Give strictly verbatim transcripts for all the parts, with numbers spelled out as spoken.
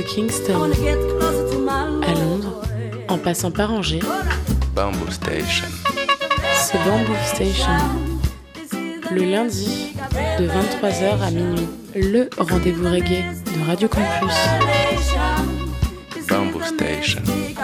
Kingston, à Londres, en passant par Angers, Bamboo Station. C'est Bamboo Station. Le lundi, de vingt-trois heures à minuit, le rendez-vous reggae de Radio Campus. Bamboo Station.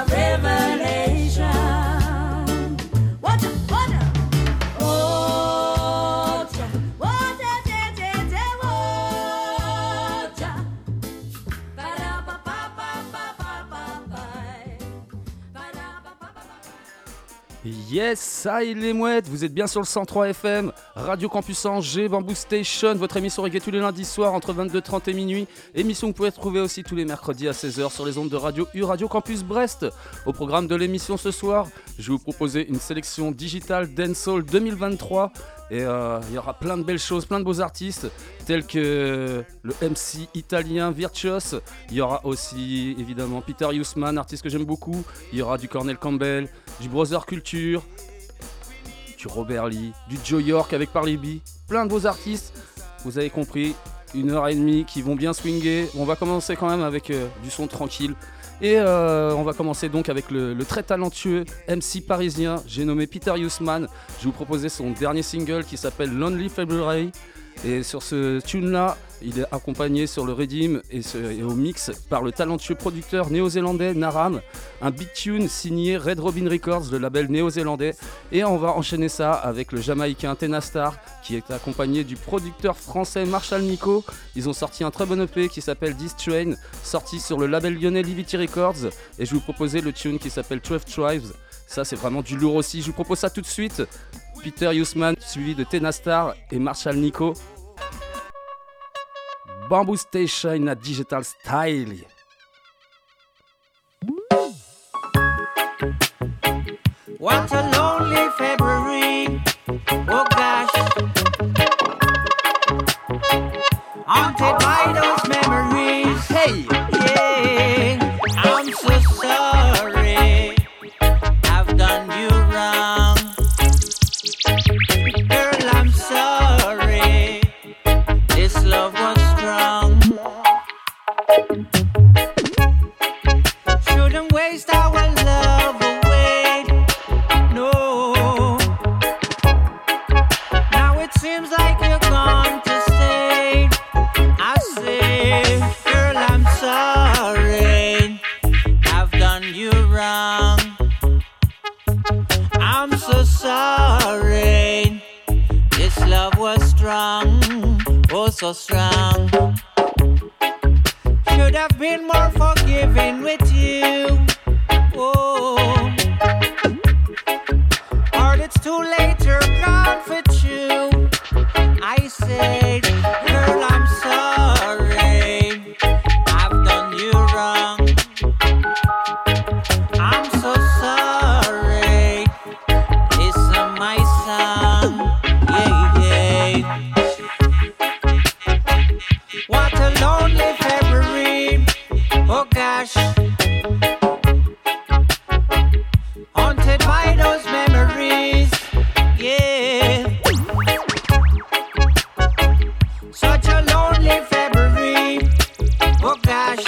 Yes, ça y est les mouettes, vous êtes bien sur le cent trois F M, Radio Campus Angers, Bamboo Station, votre émission reggae tous les lundis soirs entre vingt-deux heures trente et minuit. Émission que vous pouvez retrouver aussi tous les mercredis à seize heures sur les ondes de Radio U, Radio Campus Brest. Au programme de l'émission ce soir, je vais vous proposer une sélection digitale Dancehall deux mille vingt-trois. Et euh, il y aura plein de belles choses, plein de beaux artistes, tels que le M C italien Virtuos. Il y aura aussi évidemment Peter Huisman, artiste que j'aime beaucoup. Il y aura du Cornel Campbell, du Brother Culture, du Robert Lee, du Joe York avec Parley B. Plein de beaux artistes, vous avez compris, une heure et demie qui vont bien swinguer. On va commencer quand même avec euh, du son tranquille. Et euh, on va commencer donc avec le, le très talentueux M C parisien, j'ai nommé Peter Huisman. Je vais vous proposer son dernier single qui s'appelle Lonely February. Et sur ce tune-là, il est accompagné sur le Redeem et, ce, et au mix par le talentueux producteur néo-zélandais Naram. Un big tune signé Red Robin Records, le label néo-zélandais. Et on va enchaîner ça avec le Jamaïcain Tenastar, qui est accompagné du producteur français Marshall Nico. Ils ont sorti un très bon E P qui s'appelle This Train, sorti sur le label lyonnais Livity Records. Et je vais vous proposer le tune qui s'appelle twelve Tribes. Ça, c'est vraiment du lourd aussi. Je vous propose ça tout de suite. Peter Huisman, suivi de Tenastar et Marshall Nico. Bamboo Station à Digital Style. What a lonely February, oh gosh, haunted by those memories. Hey, yeah, I'm so sorry, I've done you wrong. Girl, I'm sorry, this love was strong. Shouldn't waste our love away, no. Now it seems like you're gone to stay. I say, girl, I'm sorry, I've done you wrong. I'm so sorry, this love was strong, oh so strong. Should have been more forgiving with you, oh. Or it's too late, you're gone for true. I said, girl, I'm sorry, I've done you wrong. I'm so sorry, listen my song, yeah, yeah. What a lonely February, oh gosh, haunted by those memories, yeah. Such a lonely February, oh gosh.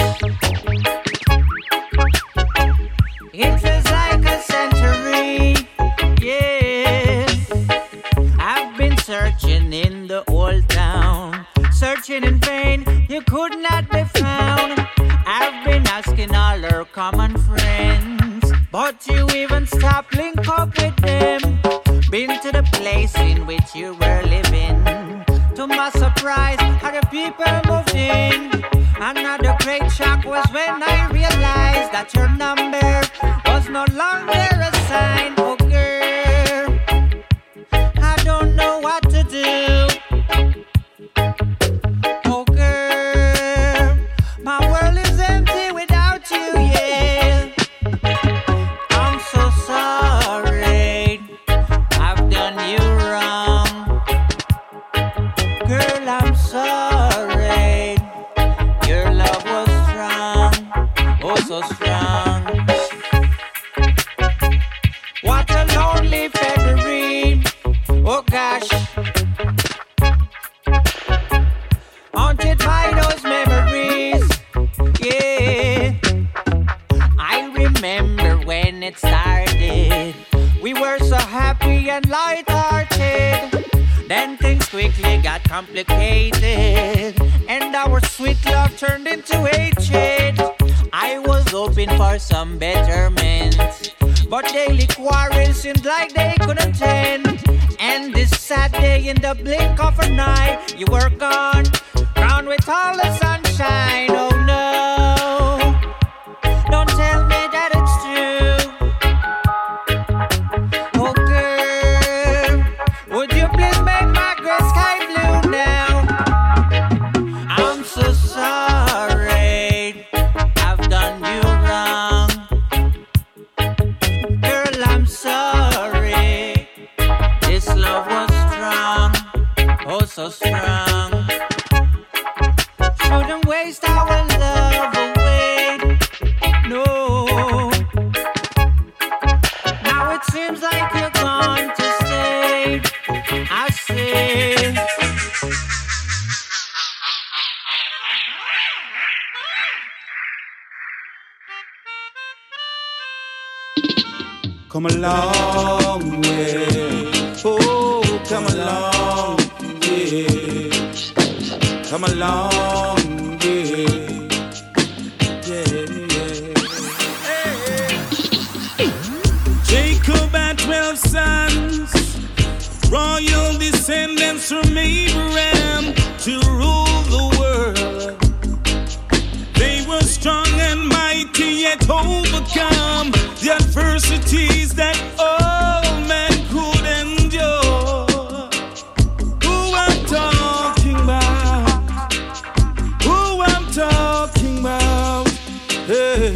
It feels like a century, yeah. I've been searching in the old town, searching in vain, you could not be found. I've been asking all our common friends, but you even stopped link up with them. Been to the place in which you were living. To my surprise, other people moved in. Another great shock was when I realized that your number was no longer assigned. Oh girl, I don't know what to do. Oh girl, my world is empty without you, yeah. I'm so sorry, I've done you wrong. Girl, I'm sorry, your love was strong, oh so strong. What a lonely February, oh gosh, haunted by those memories, yeah. it started. We were so happy and light-hearted. Then things quickly got complicated, and our sweet love turned into hatred. I was hoping for some betterment, but daily quarrels seemed like they couldn't end. And this sad day, in the blink of an eye, you were gone, crowned with all the sunshine. Oh no, don't tell me that it's true. Oh girl, would you please make my gray sky blue now? I'm so sorry, I've done you wrong. Girl, I'm sorry, this love was strong, oh so strong. Shouldn't waste our love away, no. Now it seems like you're gone to stay, I say. Come a long way, oh, come a long way, come a long way, yeah, yeah. Jacob had twelve sons, royal descendants from Abraham to rule the world. They were strong and mighty, yet overcome the adversities that all men could endure. Who I'm talking about? Who I'm talking about? Hey,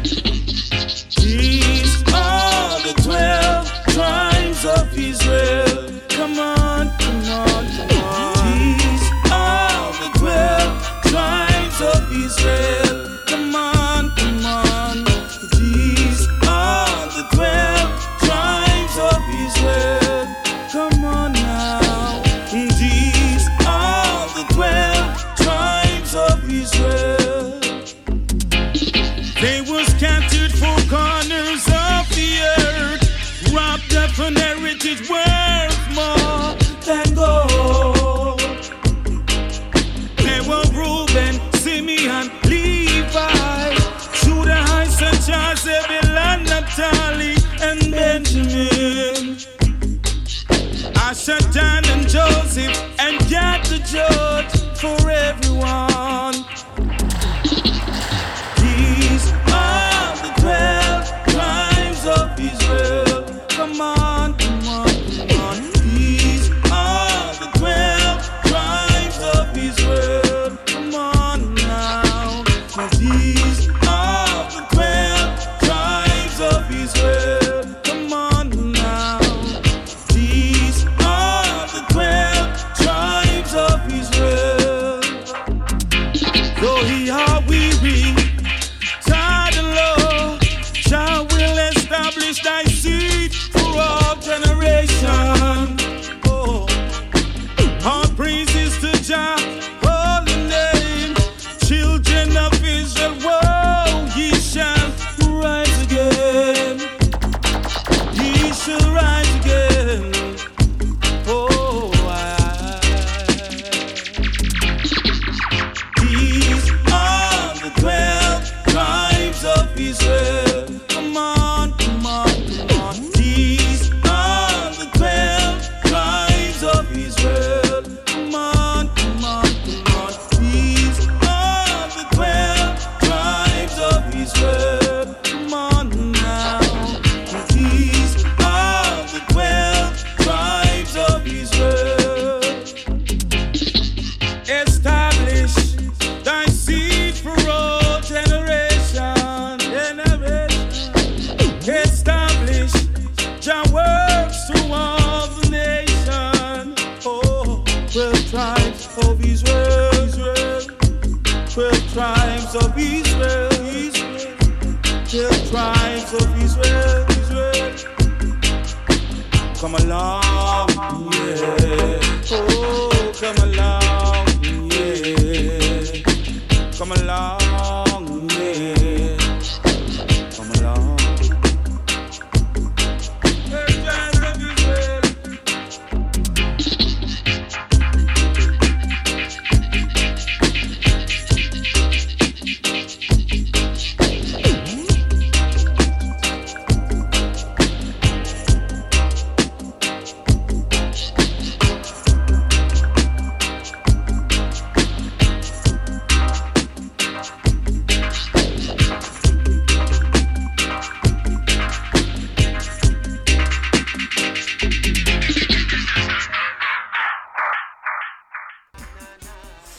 these are the twelve tribes of Israel. Come on, come on, come on. These are the twelve tribes of Israel. Come on, come on. These are the twelve tribes of Israel. Come on now. These are the twelve tribes of Israel. They were scattered four corners of the earth, wrapped up an heritage worth more than gold. They were Reuben, Simeon, Levi, Judah, Issachar, Zebulun, Naphtali, and Benjamin. Asher, Dan, and Joseph, and Gad the judge for everyone. These are the twelve tribes of Israel. Come on, come on, come on. These are the twelve tribes of Israel. Come on now. Now these are the twelve tribes of Israel. Come on now. These are the twelve tribes of Israel. Though he are weary, tired and low, Jah will establish thy seed for all generations. Oh, all praises to Jah, holy name. Children of Israel, whoa, ye shall rise again. Ye shall rise again. Oh, I. These are the twelve tribes of Israel. Come on, come on, come on. These are the twelve tribes of Israel. Come on, come on, come on. These are the twelve tribes of Israel. Come on now. These are the twelve tribes of Israel. Establish thy seed for all generation. Generation. Establish Jah works to all the nation. Oh, twelve tribes of Israel. Israel. Twelve tribes of Israel. Israel. Twelve tribes of Israel. Israel. Come along, yeah. Oh, come along, yeah. Come along, yeah. Come along.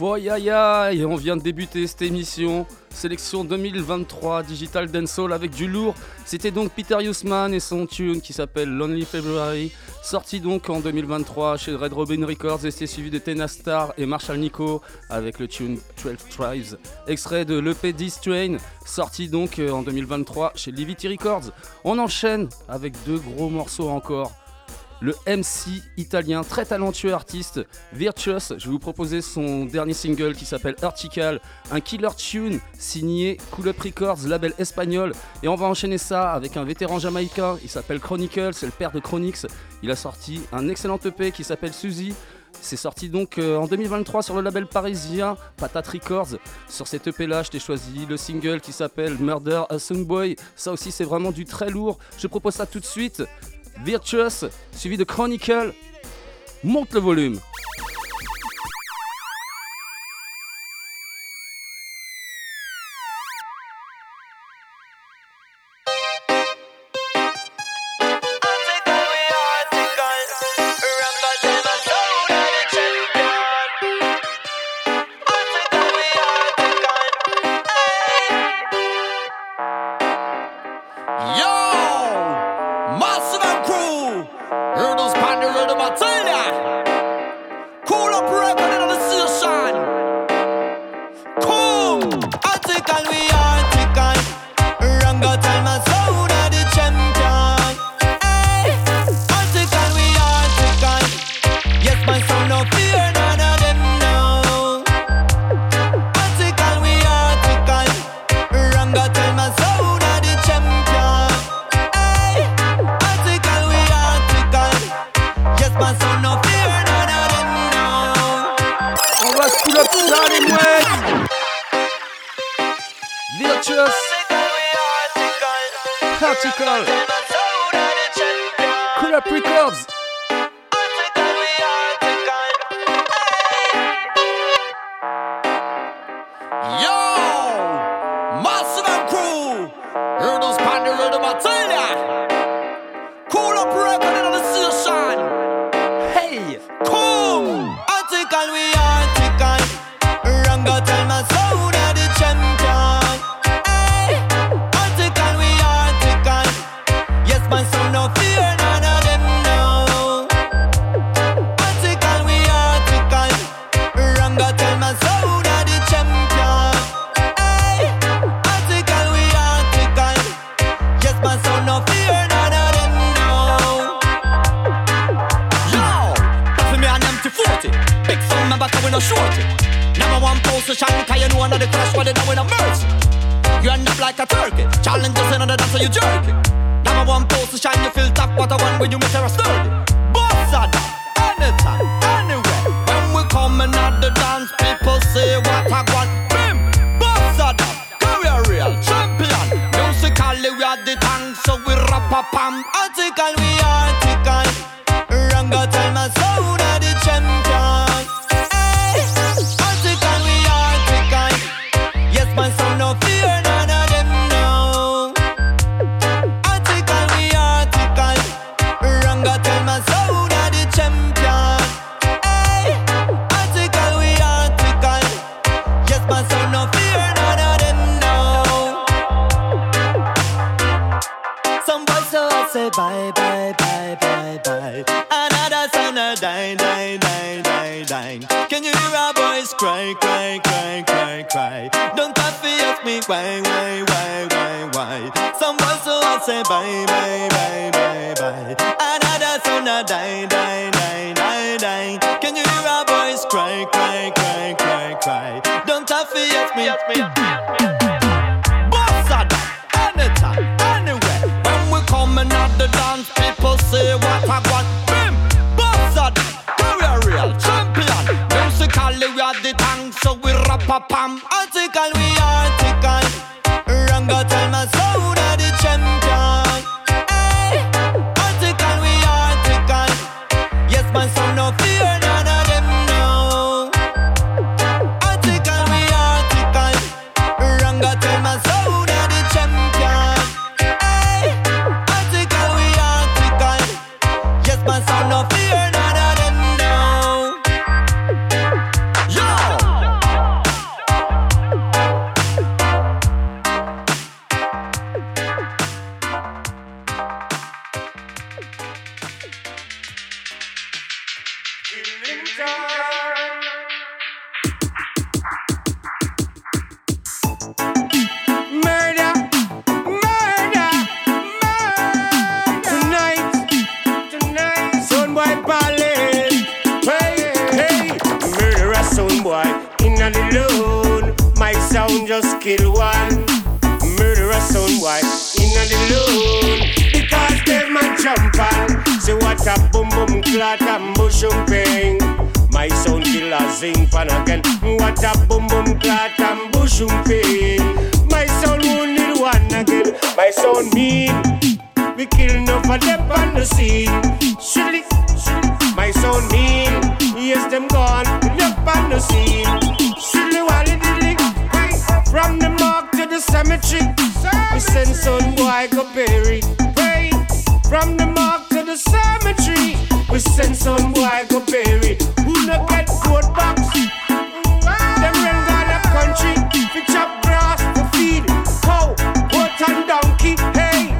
Aïe aïe aïe, on vient de débuter cette émission. Sélection deux mille vingt-trois, Digital Dancehall avec du lourd. C'était donc Peter Hussman et son tune qui s'appelle Lonely February, sorti donc en deux mille vingt-trois chez Red Robin Records, et c'est suivi de Tena Star et Marshall Nico avec le tune twelve Tribes, extrait de l'E P D-Strain, sorti donc en deux mille vingt-trois chez Livity Records. On enchaîne avec deux gros morceaux encore. Le M C italien, très talentueux artiste, Virtuous. Je vais vous proposer son dernier single qui s'appelle Vertical, un killer tune signé Cool Up Records, label espagnol. Et on va enchaîner ça avec un vétéran jamaïcain, il s'appelle Chronicle, c'est le père de Chronix. Il a sorti un excellent E P qui s'appelle Suzy. C'est sorti donc euh, en deux mille vingt-trois sur le label parisien Patate Records. Sur cet E P là, je t'ai choisi le single qui s'appelle Murder a Song Boy. Ça aussi, c'est vraiment du très lourd. Je propose ça tout de suite. Virtuous, suivi de Chronicle. Monte le volume. Ranga clot and bushum ping. My sound killer sing pan again. What a boom boom clot and bushum ping. My sound wounded one again. My sound mean. We kill enough of them on the scene. Shilly, shilly. My sound mean. Yes, them gone. Enough on the scene. Shilly, wally, dilly. From the mark to the cemetery, we send son boy go bury. Pray. From the mark to the cemetery, we send son boy go bury. Who no get goat box? Them run down the country, we chop grass to feed cow, goat and donkey. Hey,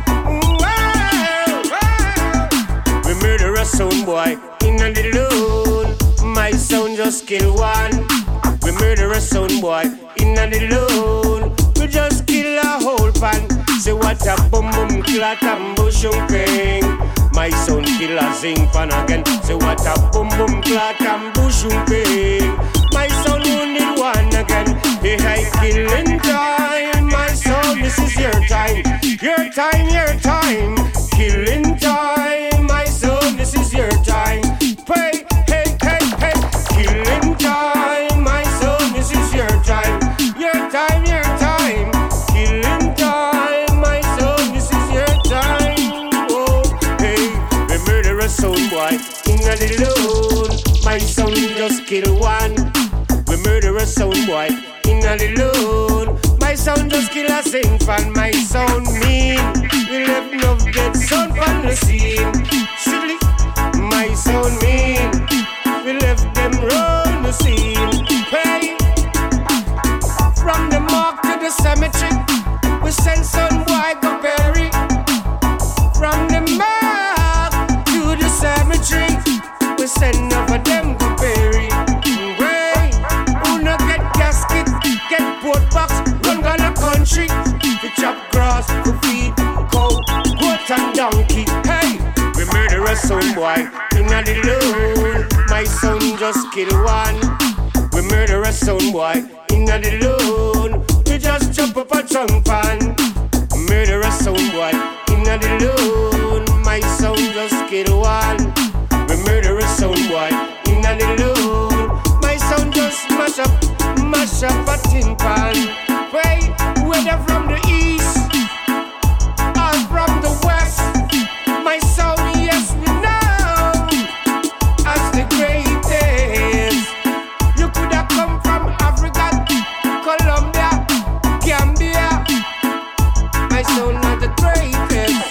we murder a son boy in a little. My son just kill one. We murder a son boy in a little. We just kill a whole pan. Say what a boom boom clot and bushum ping. My son kill a zing pan again. Say what a boom boom clot and bushum ping. My son wounded one again. Hey, hey, killing time. My son, this is your time. Your time, your time. Killing time. My son, this is your time. Pray, hey, hey, hey. Killing time. My son, this is your time. Your time, your time. Killing time. My son, this is your time. Oh, hey. We murder a son boy in a little. My son just kill one. We murder a son boy in a little. My son just kill a sing fan. My son mean. We left no dead son on the scene. Silly. My son mean. We left them run the scene. Hey. From the mark to the cemetery, we send son boy go bury. From the mark to the cemetery, we send over them go bury. Way, who no get casket, get boat box, run down the country. We chop grass, we feed cow, goat and donkey. Hey, we murder a son boy in a little. My son just kill one. We murder a son boy in a little. We just jump up a trunk pan. Murder a son boy in a little. My son just kill one. We murder a son boy in a little. My son just mash up, mash up a tin pan. Pray, whether from the east or from the west. My son, yes, we know as the greatest. You could have come from Africa, Colombia, Gambia. My son are the greatest.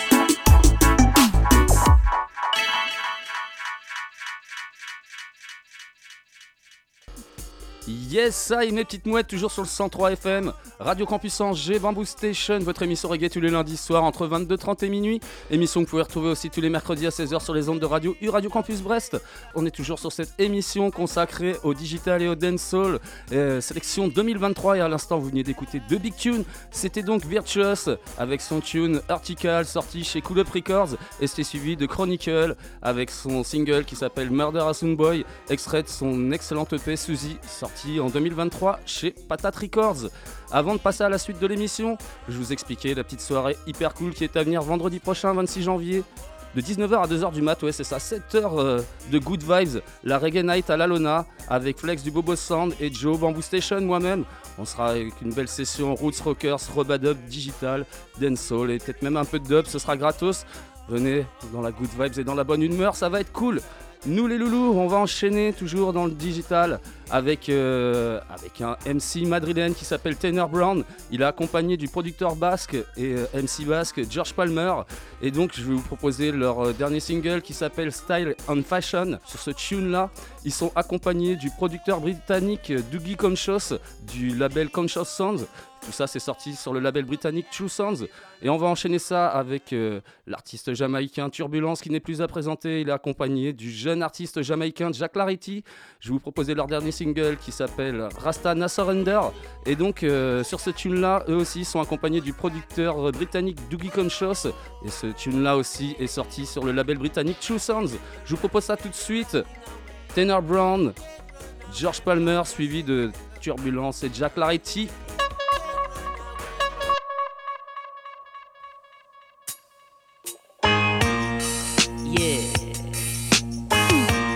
Yes, ça y mes petites mouettes, toujours sur le cent trois F M, Radio Campus Angers, Bamboo Station, votre émission reggae tous les lundis soirs entre vingt-deux trente et minuit. Émission que vous pouvez retrouver aussi tous les mercredis à seize heures sur les ondes de radio U Radio Campus Brest. On est toujours sur cette émission consacrée au digital et au dancehall, euh, sélection deux mille vingt-trois, et à l'instant vous venez d'écouter deux big tunes. C'était donc Virtuous avec son tune Article sorti chez Cool Up Records, et c'était suivi de Chronicle avec son single qui s'appelle Murder a Sound Boy, extrait de son excellente E P Suzy, sorti en deux mille vingt-trois chez Patate Records. Avant de passer à la suite de l'émission, je vous expliquais la petite soirée hyper cool qui est à venir vendredi prochain, vingt-six janvier, de dix-neuf heures à deux heures du mat, ouais c'est ça, sept heures euh, de good vibes, la Reggae Night à la Lona, avec Flex du Bobo Sound et Joe Bamboo Station, moi-même. On sera avec une belle session Roots Rockers, Robadub, Digital, Dancehall et peut-être même un peu de dub, ce sera gratos. Venez dans la good vibes et dans la bonne humeur, ça va être cool. Nous les loulous, on va enchaîner toujours dans le digital avec, euh, avec un M C madrilène qui s'appelle Tenor Brown. Il est accompagné du producteur basque et euh, M C basque George Palmer. Et donc je vais vous proposer leur euh, dernier single qui s'appelle Style and Fashion. Sur ce tune là, ils sont accompagnés du producteur britannique Dougie Conscious du label Conscious Sounds. Tout ça c'est sorti sur le label britannique True Sounds. Et on va enchaîner ça avec euh, l'artiste jamaïcain Turbulence qui n'est plus à présenter. Il est accompagné du jeune artiste jamaïcain Jack Larity. Je vais vous proposer leur dernier single qui s'appelle Rasta Na Surrender. Et donc euh, sur ce tune là, eux aussi sont accompagnés du producteur britannique Dougie Conscious. Et ce tune là aussi est sorti sur le label britannique True Sounds. Je vous propose ça tout de suite. Tenor Brown, George Palmer suivi de Turbulence et Jack Larity.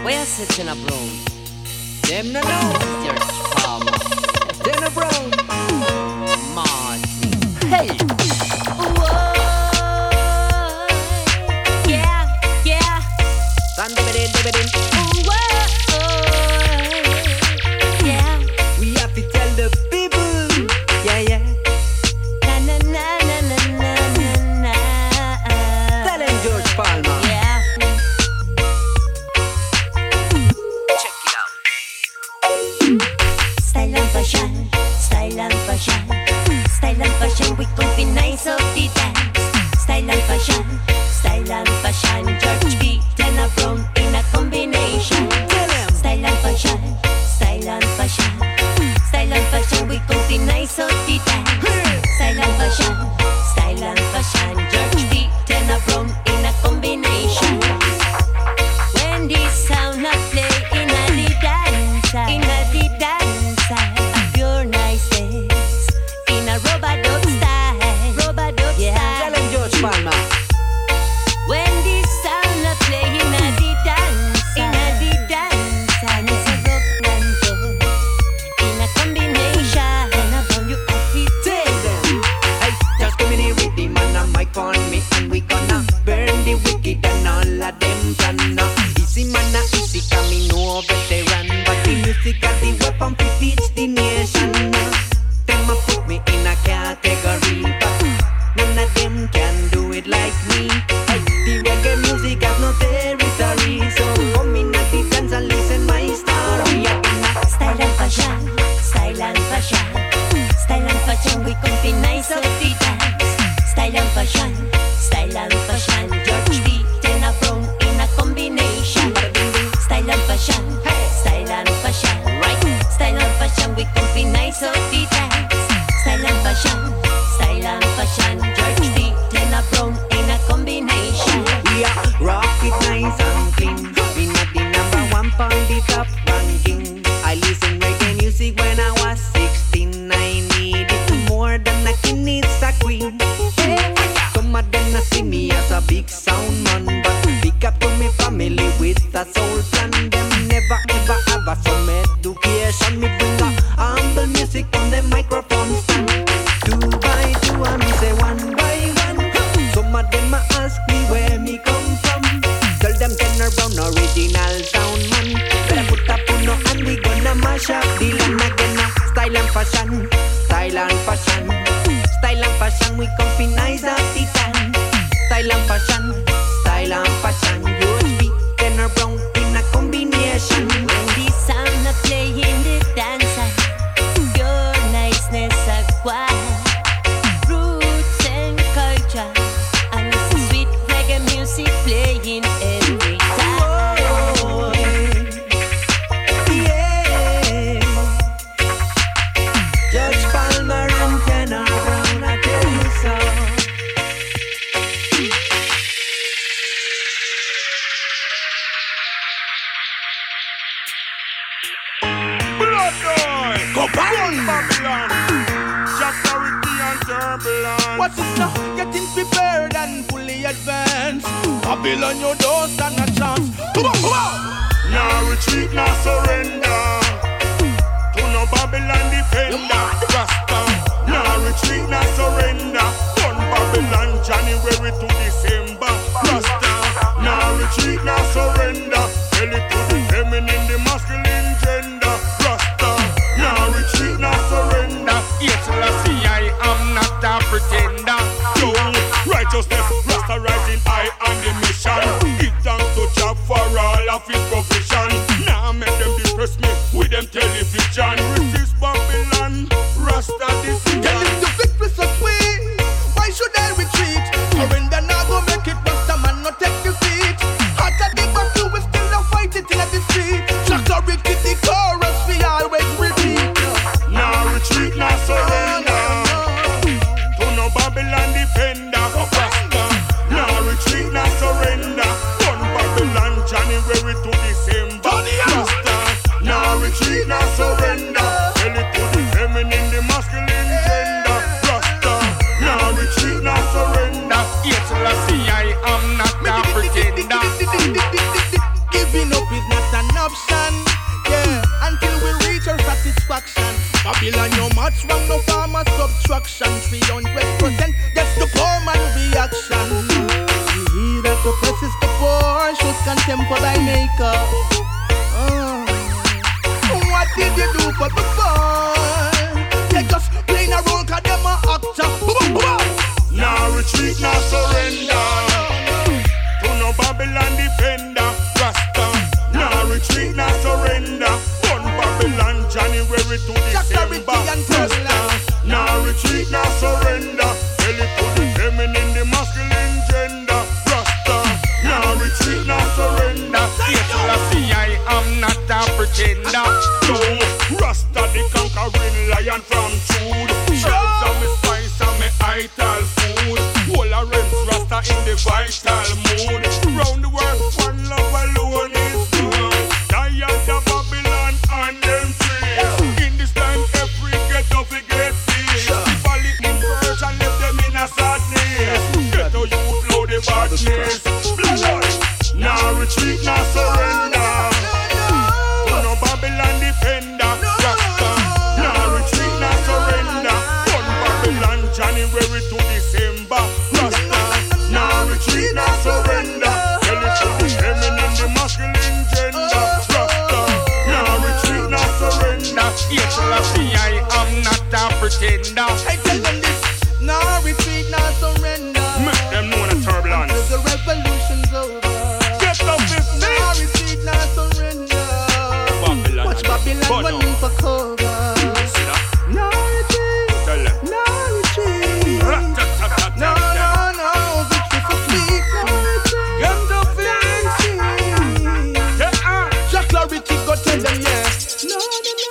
Where sits in a broom? Them no know George Palmer. Then a broom. Martin. Hey. Whoa. Yeah, yeah. Stand over there, over there. Whoa. Yeah. We have to tell the people. Yeah, yeah. Na na na na na na na. Tell them George Palmer. Yeah. Check it out. Style and fashion, style and fashion, style and fashion. We could be nice of the dance. Style and fashion, style and fashion. George B. Then a brown in a combination. Style and fashion, style and fashion, style and fashion. We could be nice of the dance. Style and fashion, style and fashion. George B. Then a brown in a combination. When this sound a play in a the dance, in a the dance, a pure niceness, in a rubber dub style, rubber dub yeah. style. Tell him George Palmer. When this sound a play in a the dance, in a the dance, and it's a rock and roll, in a combination, and a bomb you have to tell them. Hey, just give me the rhythm and a mic on me, and we gonna burn the wicked and all of them plan. Easy man, a easy coming no veteran, but the music of the weapon to teach the nation. Them a put me in a category, but none of them can do it like me. Hey, the reggae music has no territory, so come in at the dance and listen my story. Style and fashion, style and fashion, style and fashion. We come be nice of the dance. Style and fashion, style and fashion. George B. Then a brown in a combination. Style and fashion, style and fashion, right? Style and fashion, we can be nice of the dance. Style and fashion, style and fashion. George B. Then a brown in a combination. We are rock it nice and clean. We not the number one on the top ranking. I listen reggae music when I was sixteen. I needed more than a king needs a queen. Some of them not see me as a big sound man, but pick up to me family with a soul plan. Them never ever have a some education. Me bring a humble music on the microphone stand. Two by two and me say one by one. Some of them a ask me where me come from. Tell them Tenor Brown original sound man. Better put up on no and we gonna mash up the land again. Style and fashion, style and fashion, style and fashion. We come be nice at the time. Style and fashion, style and fashion. U H B, Tenor Brown in a combination. When the sound a play in the dance, pure niceness acquired, roots and culture, and it's a sweet reggae music playing every time. Oh, yeah. George Palmer and Tenor Brown, I tell you so. Blood boy, go back on Babylon. Security and turbulence. What's it now? Getting prepared and fully advanced. Babylon, you don't stand a chance. Come on, come on. Now retreat, now surrender. To no Babylon defender. Rasta. Now retreat, now surrender. One Babylon, January to December. Rasta. Now retreat, now surrender. Tell it to the feminine, the masculine gender. Rasta. Now retreat, now surrender. Yes, Lassie, I am not a pretender. Yo, righteousness, Rasta rising high on the mission. Give thanks to Jah for all of his provision. Now make them depress me with them television. Resist Babylon, Rasta decision. Tell him the victory so sweet. Why should I retreat? Surrender now go make it. Rasta man not take defeat. Hotter the battle we still not fight it in the street. Security the chorus we always repeat. Now retreat, now surrender. To no Babylon defender. Rasta. Now retreat, wrong, no form of subtraction. three hundred percent, that's the poor man reaction. He that oppresses the poor shows contempt for thy maker. Uh, what did you do for the poor? They just playing a role cause them a actor. Now retreat, now surrender. To no Babylon defender, Rasta. Now retreat, now surrender. One Babylon, January to December, Rasta. Now retreat, now surrender. Tell it to the feminine, the masculine gender, Rasta. Now retreat, now surrender. Yes, Lassie, I am not a pretender. No, Rasta the conquering lion from Jude. Shells and me spice and me ital food. Whole a rents Rasta in the vital mood. Round the world, one love alone is good. Tired of Babylon and them trees. In this time, every ghetto fi get peace. The valley in purge and left them in a sadness. Ghetto youth load the badness. Blood. Now retreat, now surrender. To no Babylon defender, Rasta. Now retreat, now surrender. One Babylon, January to December, Rasta. Now retreat, now surrender. Tell it to the feminine, the masculine gender, Rasta. Now retreat, now surrender. Yes, Lassie, I am not a pretender. I tell them this, now retreat, now surrender. Make them know the turbulence. Until the revolution's over. Get up this Now thing. retreat, now surrender. Babylon. Watch Babylon running for cover. See that? Now retreat, Tell them. now retreat. No, no, no, victory for sweet. Now retreat. Get up this. Yeah, ah. Jack Clarity, go tell them, yeah. No, no, no, no,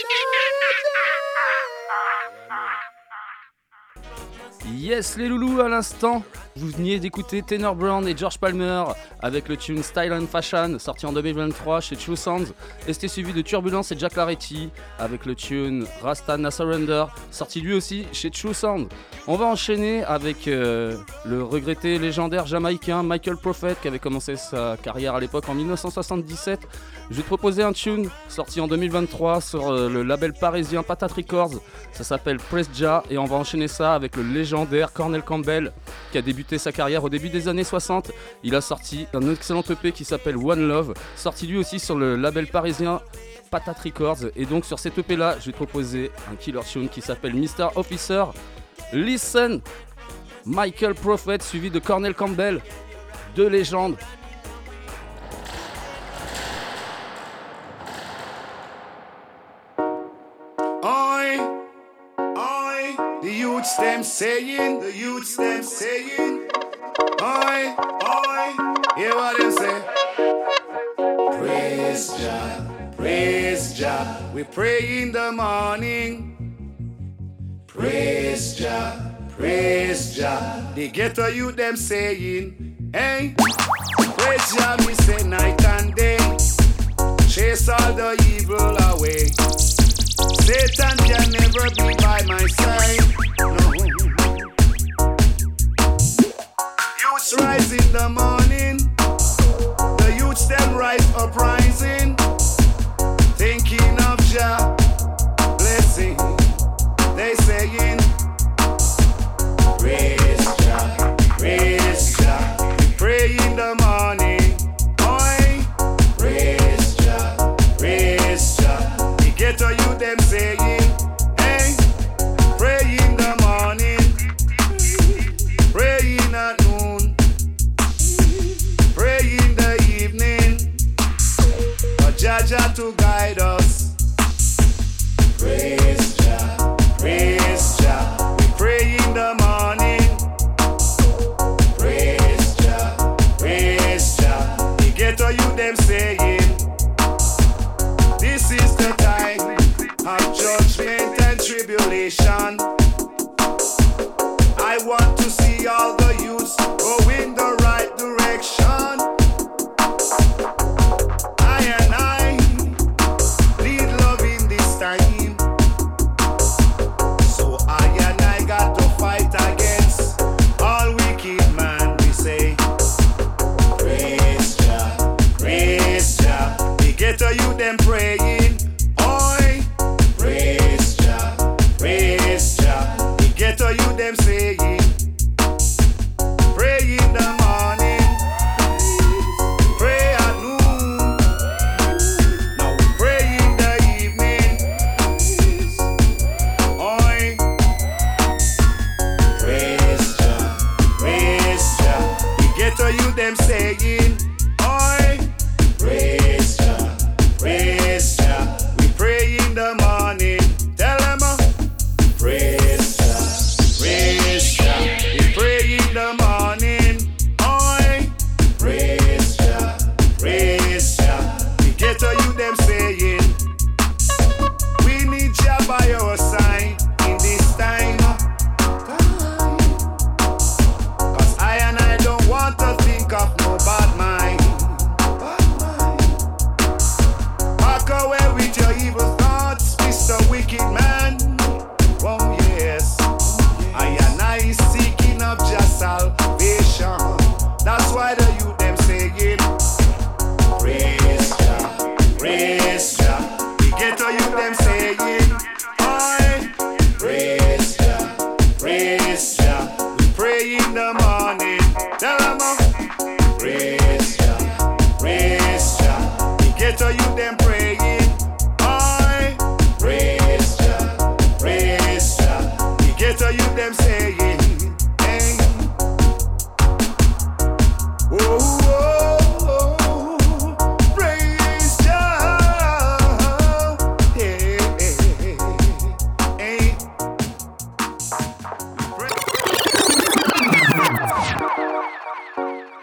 Yes les loulous, à l'instant, vous veniez d'écouter Tenor Brown et George Palmer avec le tune Style and Fashion, sorti en deux mille vingt-trois chez True Sounds, et c'était suivi de Turbulence et Jack Laretti avec le tune Rasta Na Surrender, sorti lui aussi chez True Sounds. On va enchaîner avec euh, le regretté légendaire jamaïcain Michael Prophet qui avait commencé sa carrière à l'époque en dix-neuf cent soixante-dix-sept. Je vais te proposer un tune sorti en deux mille vingt-trois sur euh, le label parisien Patate Records, ça s'appelle Press Ja, et on va enchaîner ça avec le légendaire Cornel Campbell qui a débuté sa carrière au début des années soixante. Il a sorti un excellent E P qui s'appelle One Love, sorti lui aussi sur le label parisien Patate Records. Et donc sur cet E P là, je vais te proposer un killer tune qui s'appelle mister Officer. Listen, Michael Prophet suivi de Cornel Campbell, deux légendes. Oi, oi, the youths them saying, the youths them saying, oi, oi, hear what them say. Praise Jah, praise Jah, we pray in the morning. Praise Jah, praise Jah, the ghetto youth them saying, hey, praise Jah, me say night and day, chase all the evil away. Satan can never be by my side, no. Youths rise in the morning, the youths them rise uprising, thinking of Jah blessing. They saying, praise Jah, praise Jah, we pray in the morning, oi, praise Jah, praise Jah, the ghetto you them saying, hey, pray in the morning, pray in at noon, pray in the evening, for Jah Jah to guide us, praise Jah, praise Jah, we pray in the morning. Praise Jah, praise Jah, the ghetto you them saying, this is the time of judgment and tribulation. I want to see all the youths go in the right direction. I and I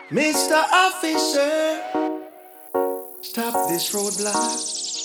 Mister Officer, stop this roadblock.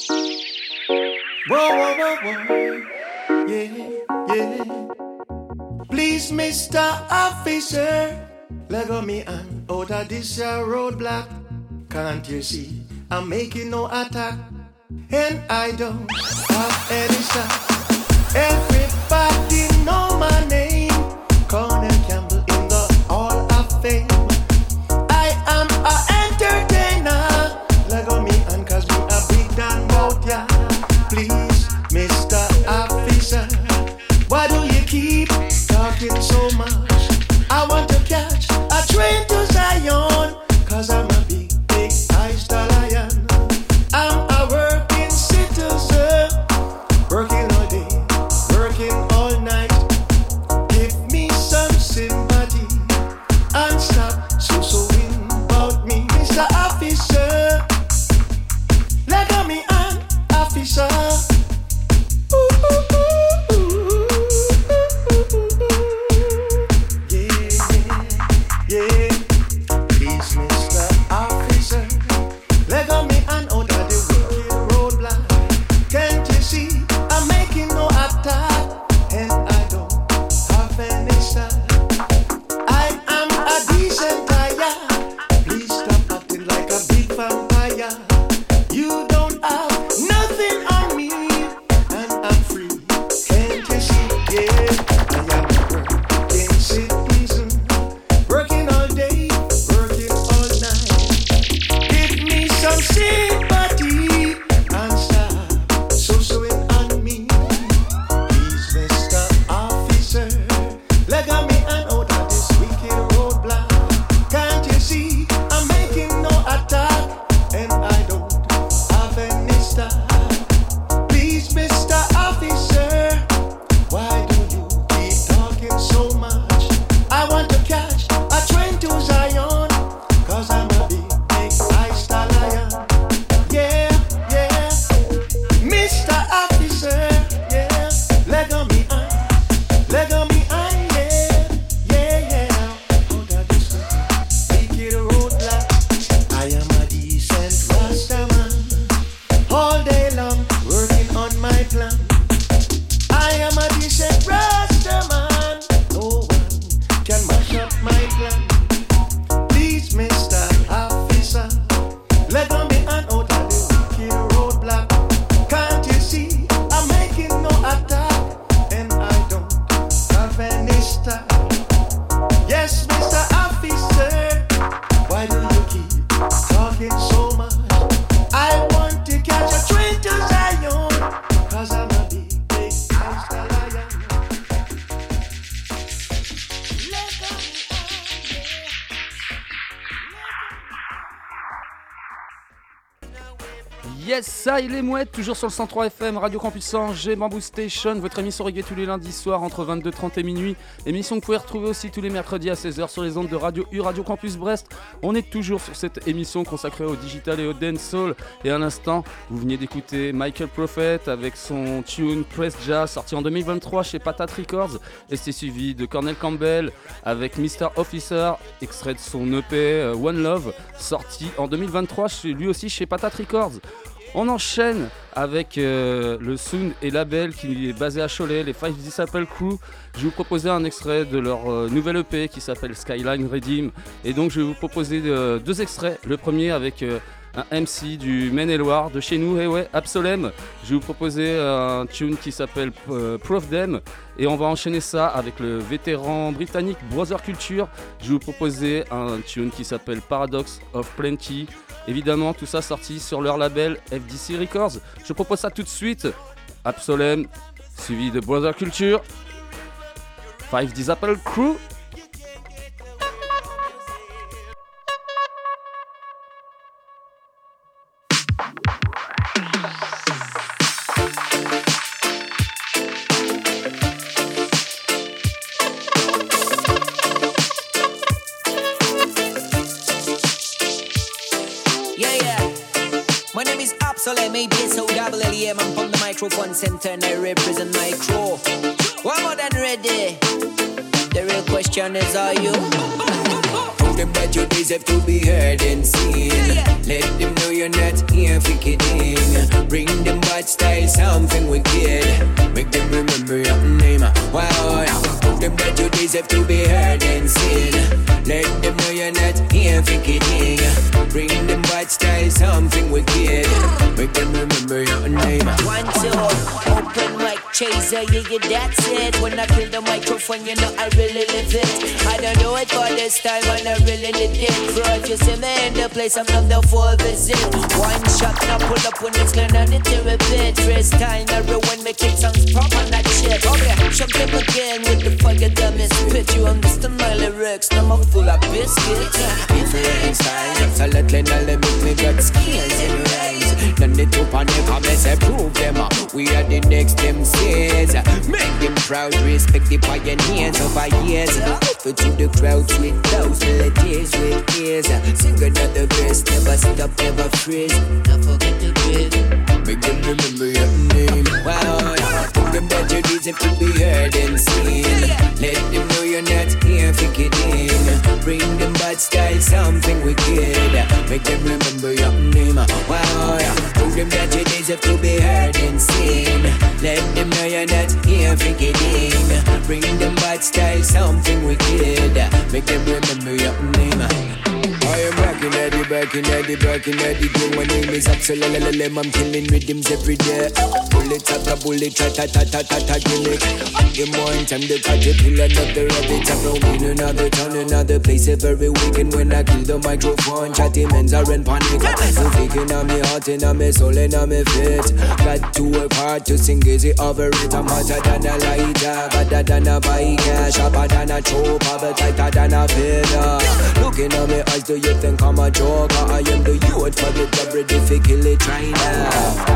Whoa, whoa, whoa, whoa. Yeah, yeah. Please, Mister Officer, let go me hand out of this uh, roadblock. Can't you see I'm making no attack? And I don't have any stop. Everybody know my name, Cornell Campbell in the Hall of Fame. I am an entertainer. Lego me and cause me a big damn bout ya. Please, Mister Officer, why do you keep talking so much? I want to catch a train to Zion, cause I'm a big, big high stallion. I'm a working citizen, working all day, working all night. Give me some sympathy and stop so-soing about me, Mister Officer. Let go me an officer. Ooh, ooh, ooh, ooh, yeah, yeah. Please, Mister Officer, let go me an out of the wicked roadblock. Can't you see I'm making no attack? And I don't have any style. I am a decent guy. Please stop acting like a big vampire. You don't have nothing on me, and I'm free. Can't you see? Yeah, I am a working citizen, working all day, working all night. Give me some sympathy and stop so-soing on me. Please, Mister Officer, let go me and out of this wicked roadblock. Can't you see I'm making no attack, and I don't have any style. Please, Mister Officer, why do you keep talking so much? I want to catch a train to Zion, cause I'm a big, big high stallion. Yeah, yeah. Mister Officer, yeah. Let go me on, let go me on, yeah, yeah, yeah. Out of this wicked roadblock. I am a decent Rastaman, all day long, working on my plan. I am a decent Rastaman, no one can mash up my plan. Please, Mister Officer, let go me and out of the wicked roadblock. Can't you see I'm making no attack, and I don't have any style. Yes, Mister Officer, why do you keep talking so much? I want to catch a train to Zion, cause I'm a big, big high stallion. Let go me on, yeah. Yes, ça, il est mouette, toujours sur le cent trois F M, Radio Campus Angers, Bamboo Station, votre émission reggae tous les lundis soirs entre vingt-deux trente et minuit. Émission que vous pouvez retrouver aussi tous les mercredis à seize heures sur les ondes de Radio U, Radio Campus Brest. On est toujours sur cette émission consacrée au digital et au dancehall. Et à l'instant, vous veniez d'écouter Michael Prophet avec son tune Press Jazz, sorti en deux mille vingt-trois chez Patat Records. Et c'est suivi de Cornell Campbell avec Mister Officer, extrait de son E P euh, One Love, sorti en deux mille vingt-trois, chez, lui aussi chez Patat Records. On enchaîne avec euh, le Sound et label qui est basé à Cholet, les Five Disciple Crew. Je vais vous proposer un extrait de leur euh, nouvelle E P qui s'appelle Skyline Redeem. Et donc je vais vous proposer euh, deux extraits. Le premier avec euh, un M C du Maine-et-Loire de chez nous, et ouais, Absolem. Je vais vous proposer euh, un tune qui s'appelle euh, Proof Them. Et on va enchaîner ça avec le vétéran britannique Brother Culture. Je vais vous proposer un tune qui s'appelle Paradox of Plenty. Évidemment, tout ça sorti sur leur label F D C Records. Je propose ça tout de suite. Absolem, suivi de Brother Culture. Five Disciple Crew. Absolem, A B S O double L E M. I'm from the microphone center and I represent my crew. One more than ready. The real question is, are you? Tell them that you deserve to be heard and seen. Let them know you're not here for kidding. Bring them bad style, something wicked. Make them remember your name. Wow, tell them that you deserve to be heard and seen. Let them know you're not here for kidding. Bring them bad style, something wicked. Make them remember your name. One, two, open mic chaser, yeah, yeah, that's it. When I kill the microphone, you know I really live it. I don't do it for this time, and I really need it. Bro, if you see me in the place, I'm not the full visit. One shot, now pull up when it's clean, I need to repeat. First time, I ruin me kick songs proper, not shit. Okay, shock them again with the fire, damn it. Spit you understand my lyrics, now I'm full of biscuits. Different styles, so let me know, let me got skills and rhymes. None the two on them, I'm let's prove them. We are the next M Cs. Make them proud, respect the pioneers over years. Offer to the crowds with those melodies with ears. Sing another verse, never stop, never freeze. Don't forget to breathe. Make them remember your name. Wow, tell them that you deserve to be heard and seen. Let them know you're not here for kidding. Bring them bad style, something wicked. Make them remember your name. Wow, tell them that you deserve to be heard and seen. Let them know you're not here for kidding. Bring them bad style, something wicked. Make them remember your name. I am rocking at the back in at the back in at the game. My name is Absolem. I'm killing rhythms every day. Bullet after bullet, ta ta ta ta ta ta gimmick. Give more time to caterpillar, another rabbit. I'm roaming another town, another place every weekend. When I kill the microphone, chatty men's are in panic. So thinking on me heart and on me soul and on me fit. Got to work hard to sing easy over it. I'm hotter than a lighter, better than a biker, sharper than a chopper, but tighter than a feather. Looking at me eyes, do you think I'm a joker? I am the youth for the job, ready for kill it China.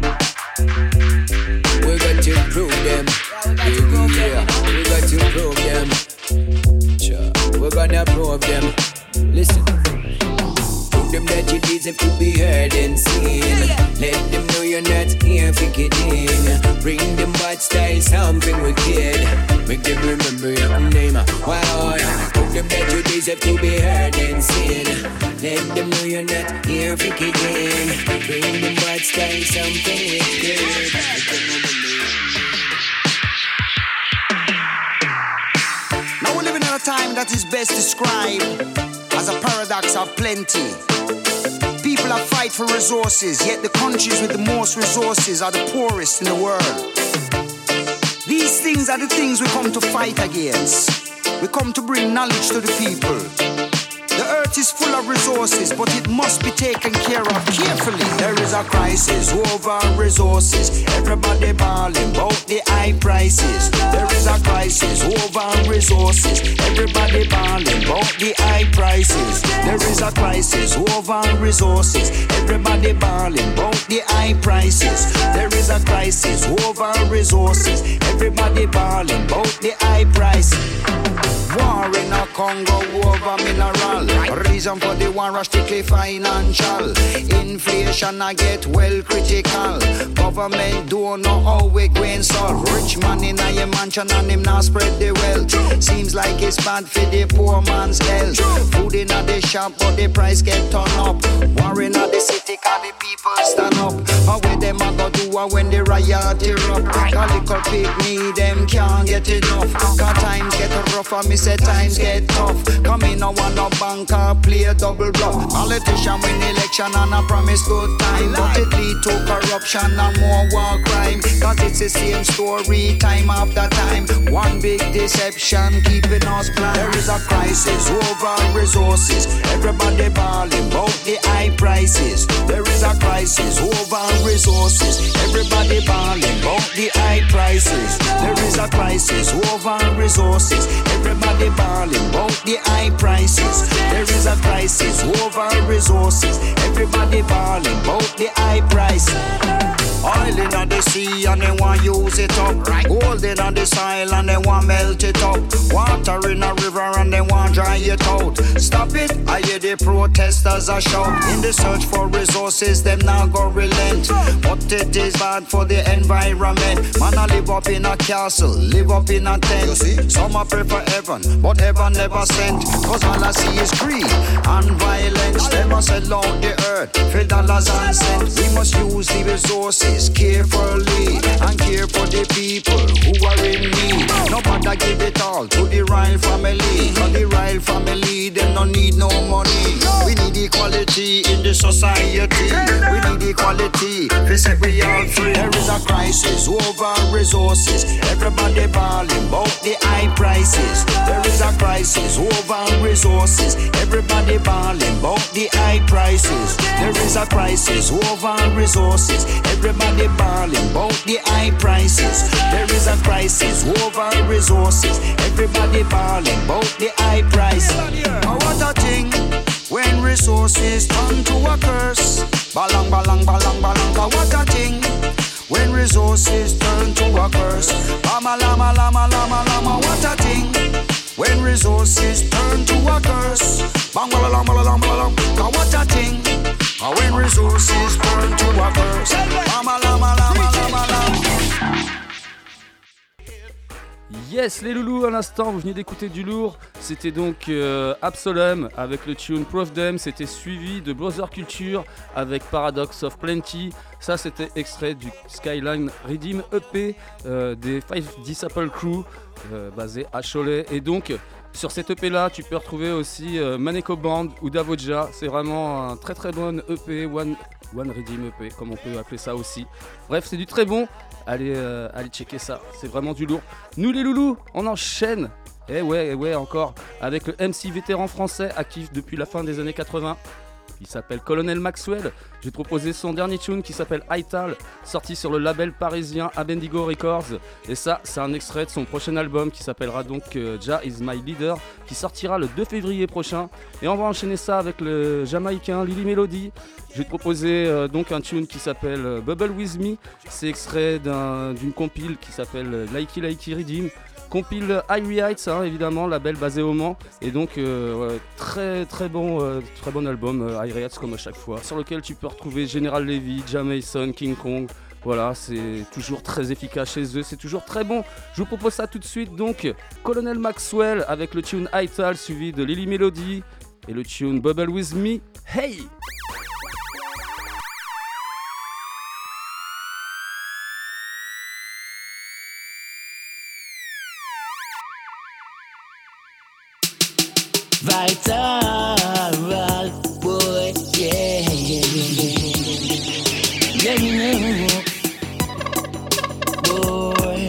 We got to prove them. Yeah, we got to prove them. Sure, we're gonna prove them. Listen. Prove them that you deserve to be heard and seen. Let them know you're not here for kidding. Bring them bad style, something wicked. Make them remember your name. Wow, prove them that you deserve to be heard and seen. Let them know you're not here for kidding. Bring them bad style, something wicked. Make them remember your name. Now we're living in a time that is best described as a paradox of plenty. People are fight for resources, yet the countries with the most resources are the poorest in the world. These things are the things we come to fight against. We come to bring knowledge to the people. The earth is full of resources, but it must be taken care of carefully. There is a crisis over resources. Everybody bawling about the high prices. There is a crisis over resources. Everybody bawling about the high prices. There is a crisis over resources. Everybody bawling about the high prices. There is a crisis over resources. Everybody bawling about the high price. War in a Congo over mineral. Reason for the war is strictly financial. Inflation I get well critical. Government don't know how we going so. Rich man in a mansion and him now spread the wealth. Seems like it's bad for the poor man's health. Food in a the shop but the price get turned up. War in a the city cause the people stand up. How where them a go do when the riot erupt? Cause little pig me them can't get enough. Cause times get rough and me say times get tough. Come in, no one no banker, play a double bluff. Politician win election and I promise good time, but it lead to corruption and more war crime. Cause it's the same story time after time. One big deception keeping us blind. There is a crisis over resources. Everybody bawling about the high prices. There is a crisis over resources. Everybody bawling about the high prices. There is a crisis over resources. Everybody bawling about the high prices. There is a crisis over resources. Everybody bawling about the high price. Oil in the sea and they want use it up. Right. Gold in the soil and they want melt it up. Water in a river and they want dry it out. Stop it, I hear the protesters a shout. In the search for resources, them now go relent. But it is bad for the environment. Man, I live up in a castle, live up in a tent. You see? Some a pray for heaven, but heaven never sent. Cause all I see is greed and violence. They must sell out the earth, fill dollars and cents. We must use the resources carefully and care for the people who are in need. Nobody give it all to the royal family. Cause the royal family, them no need no money. We need equality in the society. We need equality, we say we all free. There is a crisis over resources. Everybody bawling about the high prices. There is a crisis over resources. Everybody bawling about the high prices. There is a crisis over resources. Everybody bawling about the high prices. There is a crisis over resources. Everybody bawling about the high prices. Oh, what a thing when resources turn to a curse. Balang, balang, balang, balang. Oh, what a thing when resources turn to a curse. Lama, lama, lama, lama, lama. What a thing when resources turn to a curse. Bang, balang, balang, balang. Oh, what a thing when resources turn to a curse. Lama, lama, lama, lama, lama. Yes, les loulous, à l'instant, vous venez d'écouter du lourd. C'était donc euh, Absolem avec le tune Proof Them. C'était suivi de Brother Culture avec Paradox of Plenty. Ça, c'était extrait du Skyline Redeem E P euh, des Five Disciple Crew euh, basé à Cholet. Et donc, sur cet E P là, tu peux retrouver aussi euh, Maneko Band ou Davoja. C'est vraiment un très très bon E P, One, One Redeem E P, comme on peut appeler ça aussi. Bref, c'est du très bon. Allez, euh, allez checker ça, c'est vraiment du lourd. Nous les loulous, on enchaîne. Eh ouais, eh ouais, encore. Avec le M C vétéran français, actif depuis la fin des années quatre-vingts. Il s'appelle Colonel Maxwell. J'ai proposé son dernier tune qui s'appelle Ital, sorti sur le label parisien Abendigo Records. Et ça, c'est un extrait de son prochain album qui s'appellera donc euh, Jah is my leader, qui sortira le deux février prochain. Et on va enchaîner ça avec le Jamaïcain Lily Melody. Je vais te proposer euh, donc un tune qui s'appelle euh, Bubble With Me. C'est extrait d'un, d'une compile qui s'appelle euh, Likey Likey Redeem. Compile Irie Heights, hein, évidemment, label basé au Mans. Et donc, euh, ouais, très très bon, euh, très bon album, euh, Irie Heights comme à chaque fois. Sur lequel tu peux retrouver General Levy, Jamison, King Kong. Voilà, c'est toujours très efficace chez eux, c'est toujours très bon. Je vous propose ça tout de suite, donc, Colonel Maxwell avec le tune Ital suivi de Lily Melody et le tune Bubble With Me. Hey! Vital, boy, yeah, yeah, yeah, yeah, yeah, boy,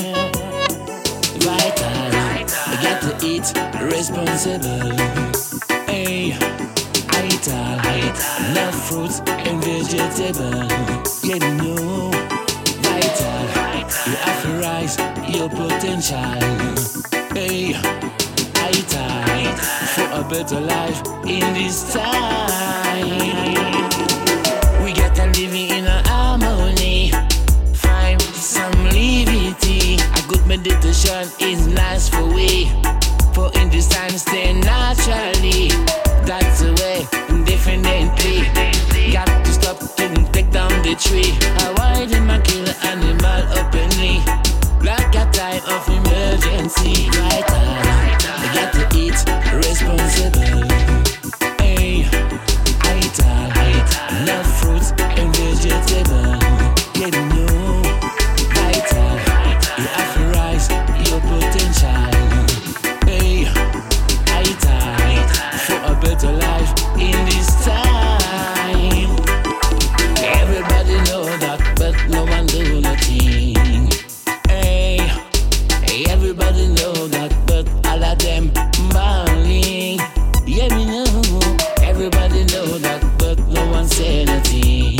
vital, I got to eat responsible, hey, vital, love fruits and vegetables, yeah, you know, vital, you have to rise your potential, hey, vital, for a better life in this time. We gotta live in a harmony, find some levity. A good meditation is nice for we, for in this time stay naturally. That's the way, indefinitely. Got to stop and take down the tree. Avoid him and kill an animal openly, like a time of emergency. Vital, I got to eat responsible. Hey, vital, love fruits and vegetables. Yeah, you know, vital, you have to rise your potential. Hey, vital, for a better life in this time. Everybody know that, but no one do nothing. Hey, everybody know that, but all of them balling. Yeah, me know. Everybody know that, but no one say nothing.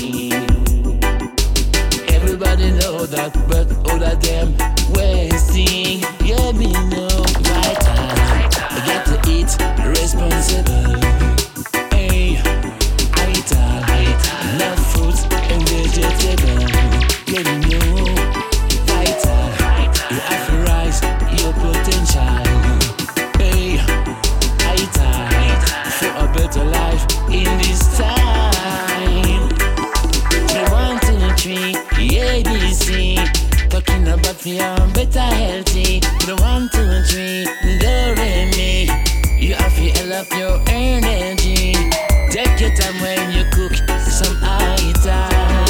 Everybody know that, but all of them wasting. Yeah, me know. Vital, I got to eat responsible. Hey, vital, love fruits and vegetables. energy. Take your time when you cook some ital.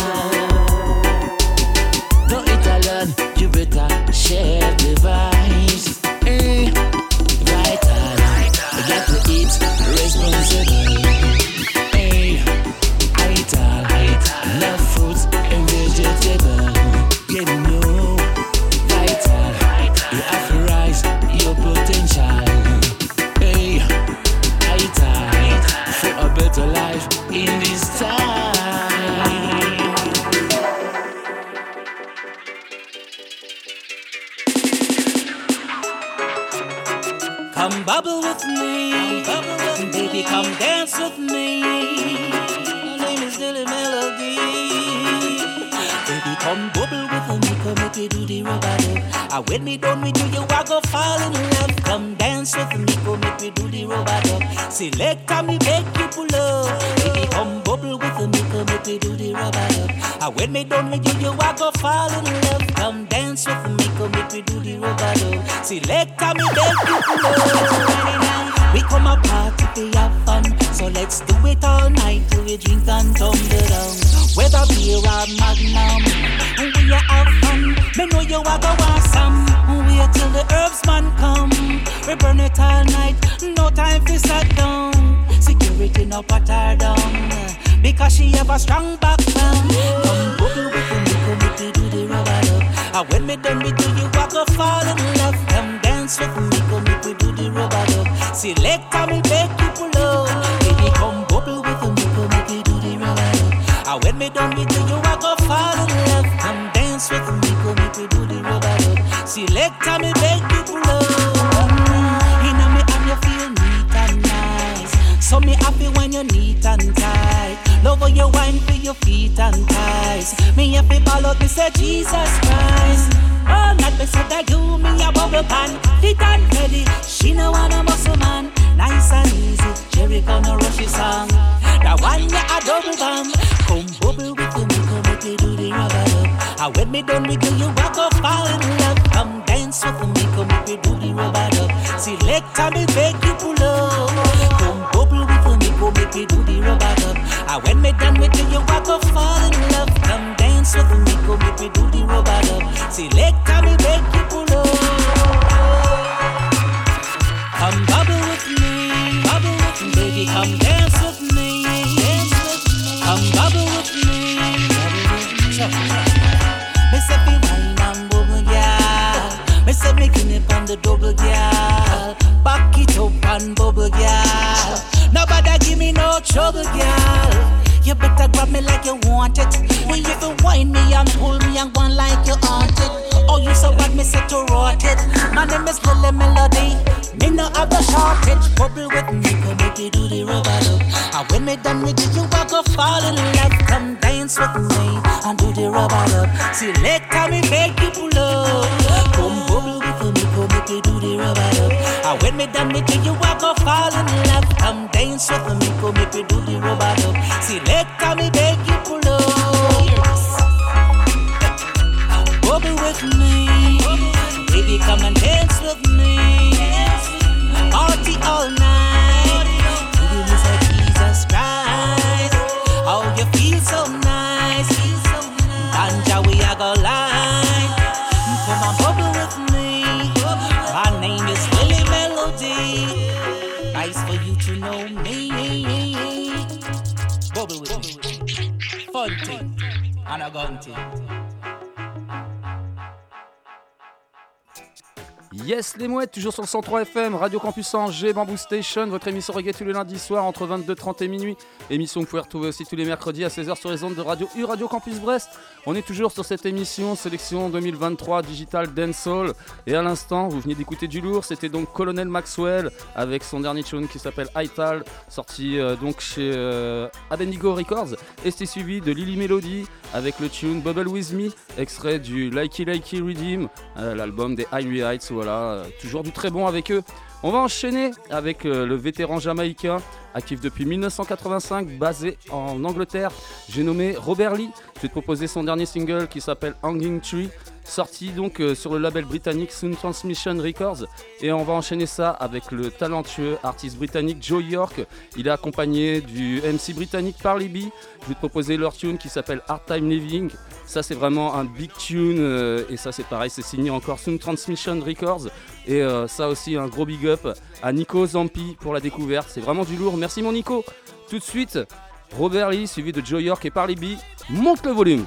Don't eat alone, you better share the vibes. Hey, vital, you got to eat responsible. Hey, ital, love fruits and vegetables. You know, vital, you have to rise your potential. Hey, vital, for a better life in this time. Come bubble with me, bubble with me. Baby, come dance with me. My name is Dilly Melody. Baby, come bubble with me, come make me do the rubber. Ah, when me done with you, you a go fall in love. Come dance with me, come make me do the rubber. Select me, make you pull up. Baby, come bubble with me, come make me do the rubber. Ah, when me done with you, you a go fall in love. Come dance with me, come make me do the rubber. Select me, make you pull up. We come a party to have fun, so let's do it all night till we drink and tumble down. Whether beer or magnum, we a have fun. Me know you a go want some. Wait till the herbs man come. We burn it all night, no time for sit down. Security no put her down, because she have a strong background. Come bubble with me, come make me do the rubber love. And when me done with you, you a go fall in love. Come dance with me, come make me do the rubber love. Select me, make you pull up. Baby, come bubble with me, come make me do the rubber love. And when me done with you, you a go fall in love. Come dance with me, come make me do the rubber love. Select me, make you pull up. Inna me and you feel neat and nice. So me happy when you're neat and tight. Love how you wine for your feet and thighs. Me happy ball out, me say Jesus Christ. All night me said that you me a bubble pan. Fit and ready, she no want a muscle man. Nice and easy, Jericho no rushy song. That one ya a double bam. Come bubble with me, come make me do the rubber love. And when me done with you, you a go fall in love. Come dance with me, come make me do the rubber love. Select me, make you pull up. Come bubble with me, come make me do the rubber love. And when me done with you, you a go fall in love. Come dance with me, come make me do the rubber love. Select me, make you pull up. Come bubble with me, bubble with me. Baby, come dance with me, dance with me. Come bubble with me, bubble with me. Me say me wine and bubble, girl. Me say me clean it on the double, girl. Back it up and bubble, girl. Nobody give me no trouble, girl. You better grab me like you want it. When you can whine me and pull me and go like you want it. Oh, you so bad, me say to rot it. My name is Lily Melody. Me no have the shortage. Bubble with me, come make you do the rubber love. And when me done with you, you a go fall in love. Come dance with me and do the rubber love. Select me, make you pull up. Come bubble with me, come make you do the rubber love. And when me done with you, you a go fall in love. Come dance with me, come make you do the rubber love. Select me, make you pull up. Bubble with me, baby, come and dance with me. Party all night, you miss like Jesus Christ. Oh, you feel so nice, Ganja we a go line. Come on, bubble with me. My name is Lily Melody. Nice for you to know me. Bubble with me. Fun thing and a gun thing. Yes les mouettes, toujours sur le cent trois F M, Radio Campus Angers, Bamboo Station, votre émission reggae tous les lundis soirs entre vingt-deux trente et minuit. Émission que vous pouvez retrouver aussi tous les mercredis à seize heures sur les ondes de Radio U, Radio Campus Brest. On est toujours sur cette émission, sélection deux mille vingt-trois, Digital Dancehall. Et à l'instant, vous venez d'écouter du lourd, c'était donc Colonel Maxwell avec son dernier tune qui s'appelle Ital, sorti euh, donc chez euh, Abednego Records. Et c'était suivi de Lily Melody avec le tune Bubble With Me, extrait du Likey Likey Redeem, euh, l'album des Irie Heights, voilà, euh, toujours du très bon avec eux. On va enchaîner avec euh, le vétéran jamaïcain, actif depuis dix-neuf cent quatre-vingt-cinq, basé en Angleterre. J'ai nommé Robert Lee. Je vais te proposer son dernier single qui s'appelle Hanging Tree. sorti donc euh, sur le label britannique Sound Transmission Records. Et on va enchaîner ça avec le talentueux artiste britannique Joe York. Il est accompagné du M C britannique Parley B. Je vais te proposer leur tune qui s'appelle Hard Time Living. Ça c'est vraiment un big tune euh, et ça c'est pareil, c'est signé encore Sound Transmission Records. Et euh, ça aussi un gros big up à Nico Zampi pour la découverte. C'est vraiment du lourd. Merci mon Nico. Tout de suite, Robert Lee suivi de Joe York et Parley B. Monte le volume.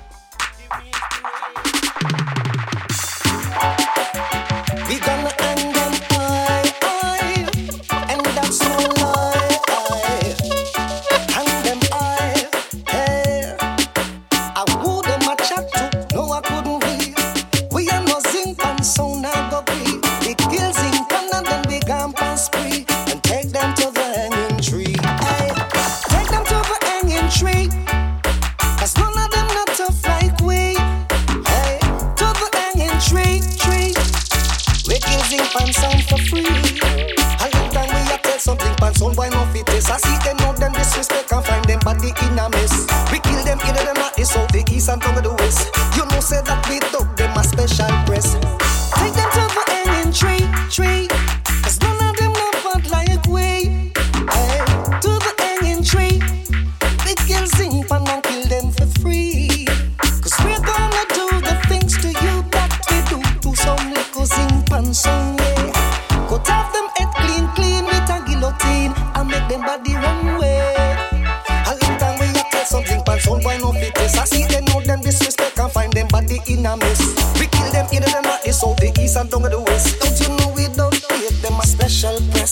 We gonna hang them high, high, and that's no lie. Hang them high, hey. I who them a chat to, no I couldn't be. We are no zinc and sound I go be. We kill zinc and then we gamp and spree and take them to the hanging tree. Hey, take them to the hanging tree. 'Cause none of them not tough like we. Hey, to the hanging tree, tree. We kill zinc pan sound for free. A long time we a tell something pan sound why no fit is. I see them know them disrespect and find them body in a mess. We kill them either them not the south, the east and down to the west. You know say that we dug them a special press. Take them to the hanging tree, tree. 'Cause none of them not bad like we. Hey, to the hanging tree. We kill zinc pan and kill them for free. 'Cause we're gonna do the things to you that we do to some little zinc pan song, yeah. Cut off them head clean, clean with a guillotine and make them body run away. A long time we a tell something pan sound why no fit is. I see them know them disrespect and find them body in a mess. We kill them either them not the south, the east and down to the west. Don't you know we don't hate them a special press?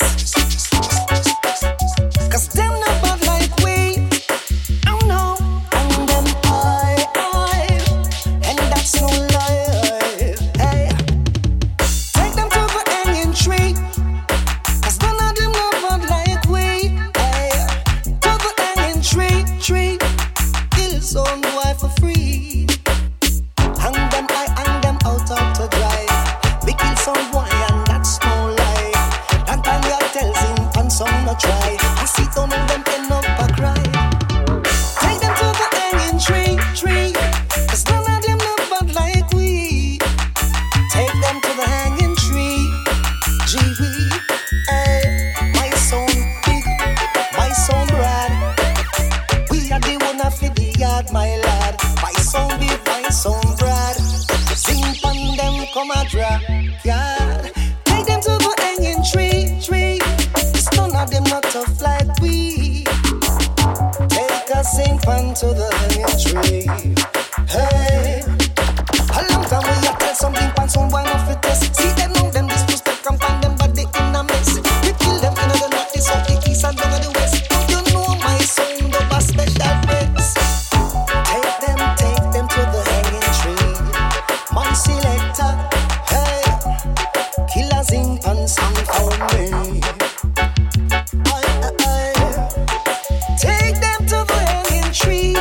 'Cause them not bad like we. Oh no, and them high, high, and that's no lie. Hey, take them to the hanging tree. 'Cause none of them not bad like we. Hey, to the hanging tree, tree. Kill some boy for free. Hang them high, hang them out out to dry. We kill some boy and that's no lie. That time you tell zinc and some no try. I see some of them end up a cry. Take them to the hanging tree, tree. 'Cause none of them not bad like we. Take them to the hanging tree. Gee wee, hey, my sound big, my sound broad. We are the one of the yard, my lad. My sound big, my sound broad. Sing on them, come a drop, yard. Take them to the hanging tree, tree. 'Cause none of them not tough like we. Take a sing pan to the hanging tree. Hey, a long time we a tell something pan sound why not fit test. See them know them disrespect and find them body in a mess. We kill them in the north, the south, the east and down to the west. Don't you know my sound of a special place? Take them, take them to the hanging tree. My selector, hey, killer zinc and sing for me. I, I, I. Take them to the hanging tree.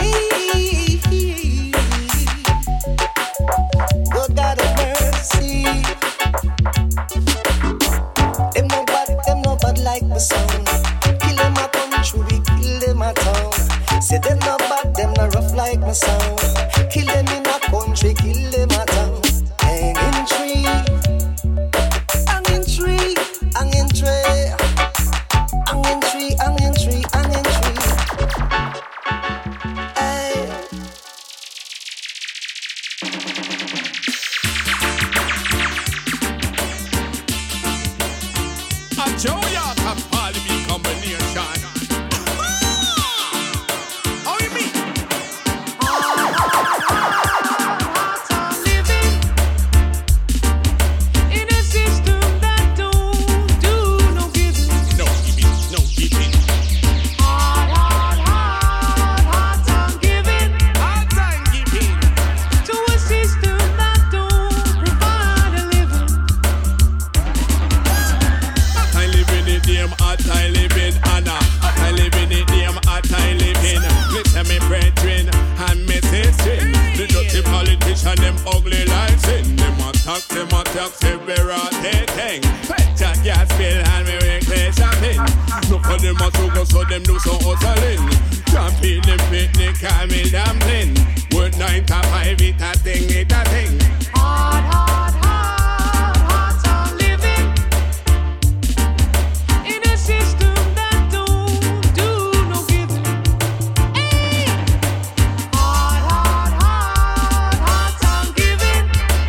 Good God of mercy. Them no bad, them no bad like the sound. Kill them a country, kill them a town. Say them no bad, them no rough like my sound. Kill them in a country, kill them a town. Hanging tree, hanging tree, hanging tree, hanging tree, hanging tree, hanging tree. Hey. A Joe York and Parley B combination. How you mean? In a system that don't do no giving. No giving, no giving. Hard, hard, hard, hard time giving. Hard time giving. To a system that don't provide a living. I live in it, damn hot I live in Anna. I live in it, damn hot I live in. Listen me brethren and me sister. The dirty politician, them ugly like sin. Them attack, them attack, say we're a thing. Pet gas bill and me reckless shopping. Look for them a sugar so them do so hustling. Can't feed the picnic, call me dumpling. Word nine to five, it a thing, it a thing. Hard, hard, hard, hard time living in a system that don't do no giving. Hey! Hard, hard, hard, hard time giving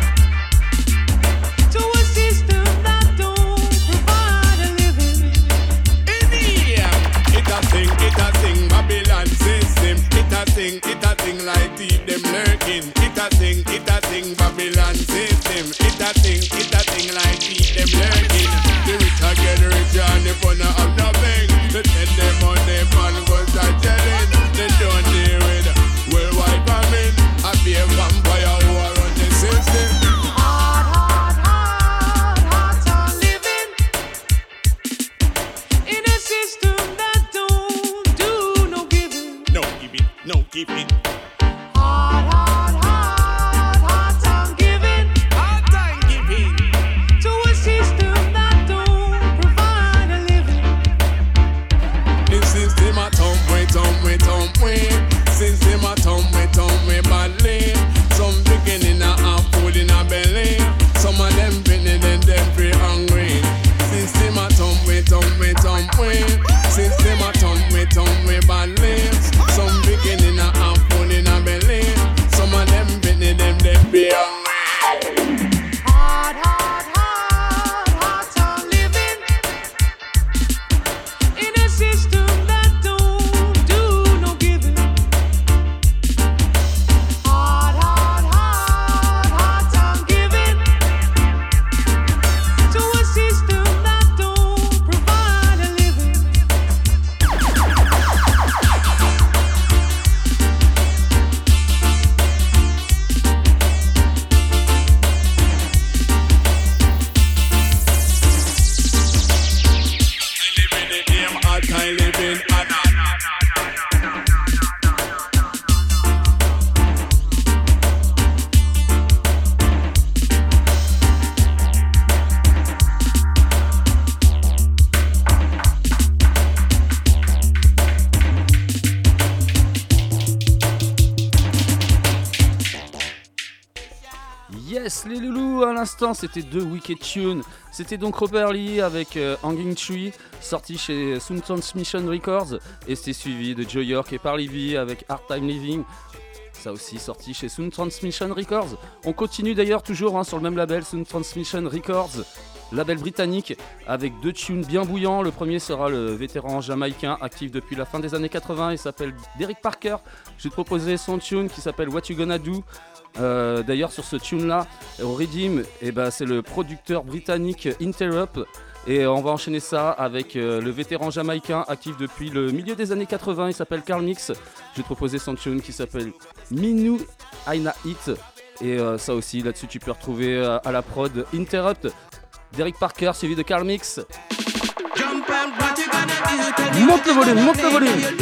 to a system that don't provide a living. In here, it a thing, it a thing, Babylon system. It a thing, it a thing like deep them lurking. It a thing, it a thing, Babylon system. It a thing, it a thing like deep them lurking. The rich a get richer and the poor not have nothing. They send them on them and go start selling. They don't deal with worldwide famine. I be a vampire who are on the system. Hard, hard, hard, hard time living in a system that don't do no giving. No give it, no give it. Hard, hard, hard, hard time giving. Hard time giving to a system that don't provide a living. the system a thump way, thump way, thump way. System a thump way, thump way badly. Some beginning a have food in a belly. Some of them beginning then them feel hungry. System a thump way, thump way, thump way. System a thump way, thump way badly. Some beginning a have food in a belly. Some of them beginning them them feel hungry. Hard, hard, hard, hard time living in a system that don't do no giving. Hard, hard, hard, hard time giving to a system that don't provide a living. I live in the damn hard time living hard. Yes, les loulous, à l'instant, c'était deux Wicked Tunes. C'était donc Robert Lee avec euh, Hanging Tree, sorti chez Sound Transmission Records, et c'était suivi de Joe York et Parley V avec Hard Time Living. Ça aussi sorti chez Sound Transmission Records. On continue d'ailleurs toujours hein, sur le même label, Sound Transmission Records, label britannique, avec deux tunes bien bouillants. Le premier sera le vétéran jamaïcain actif depuis la fin des années quatre-vingts, il s'appelle Derek Parker. Je vais te proposer son tune qui s'appelle What You Gonna Do. Euh, d'ailleurs sur ce tune là au Redeem, eh ben, c'est le producteur britannique Interrupt, et on va enchaîner ça avec euh, le vétéran jamaïcain actif depuis le milieu des années quatre-vingts, il s'appelle Carl Mix. Je vais te proposer son tune qui s'appelle Minu Aina Hit, et euh, ça aussi là dessus tu peux retrouver euh, à la prod Interrupt, Derek Parker suivi de Carl Mix. Monte le volume, monte le volume.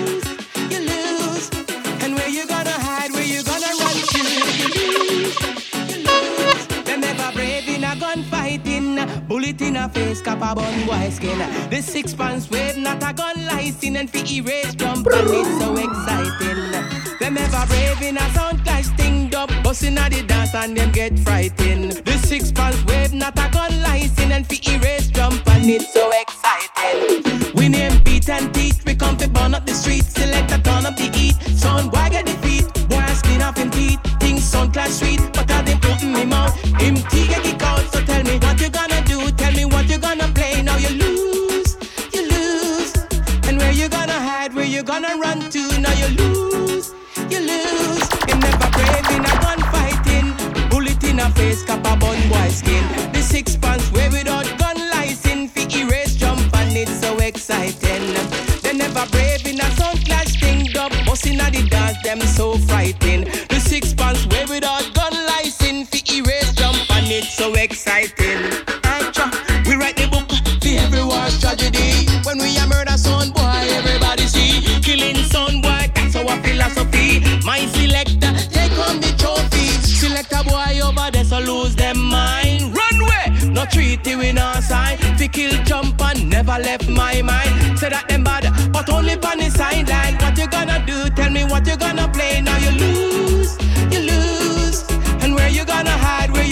Bullet in a face, cap a bun boy skin. The six pants wave, not a gun license, and fi erase jump and it's so exciting. Them ever brave in a sound clash thing up, busting at the dance and them get frightened. The six pants wave, not a gun license, and fi erase jump and it's so exciting. We name beat and teeth, we come to burn up the street, select a turn up the heat. Sound boy get defeat, boy skin off him teeth. Things sound clash sweet, but I them put in him out. Him tea get kick out, so tell me what you gonna do. Tell me what you gonna play. Now you lose, you lose. And where you gonna hide, where you gonna run to. Now you lose, you lose. You never brave in a gunfighting. Bullet in a face, cap a bun boy skin. The six pants way without gun license. Fi erase jump and it's so exciting. They never brave in a sound clash thing. Dub busting at the dance, them so frightened. The six pants way without gun license. Fi erase jump and it's so exciting. We write the book for every war's tragedy. When we a murder son boy, everybody see. Killing son boy, that's our philosophy. My selector, take on the trophy. Select a boy over there, so lose them mind. Runway, no treaty we no sign. Fi kill jump and never left my mind. Say that them bad, but only on the sideline. What you gonna do? Tell me what you gonna play. Now you lose, you lose. And where you gonna hide? Where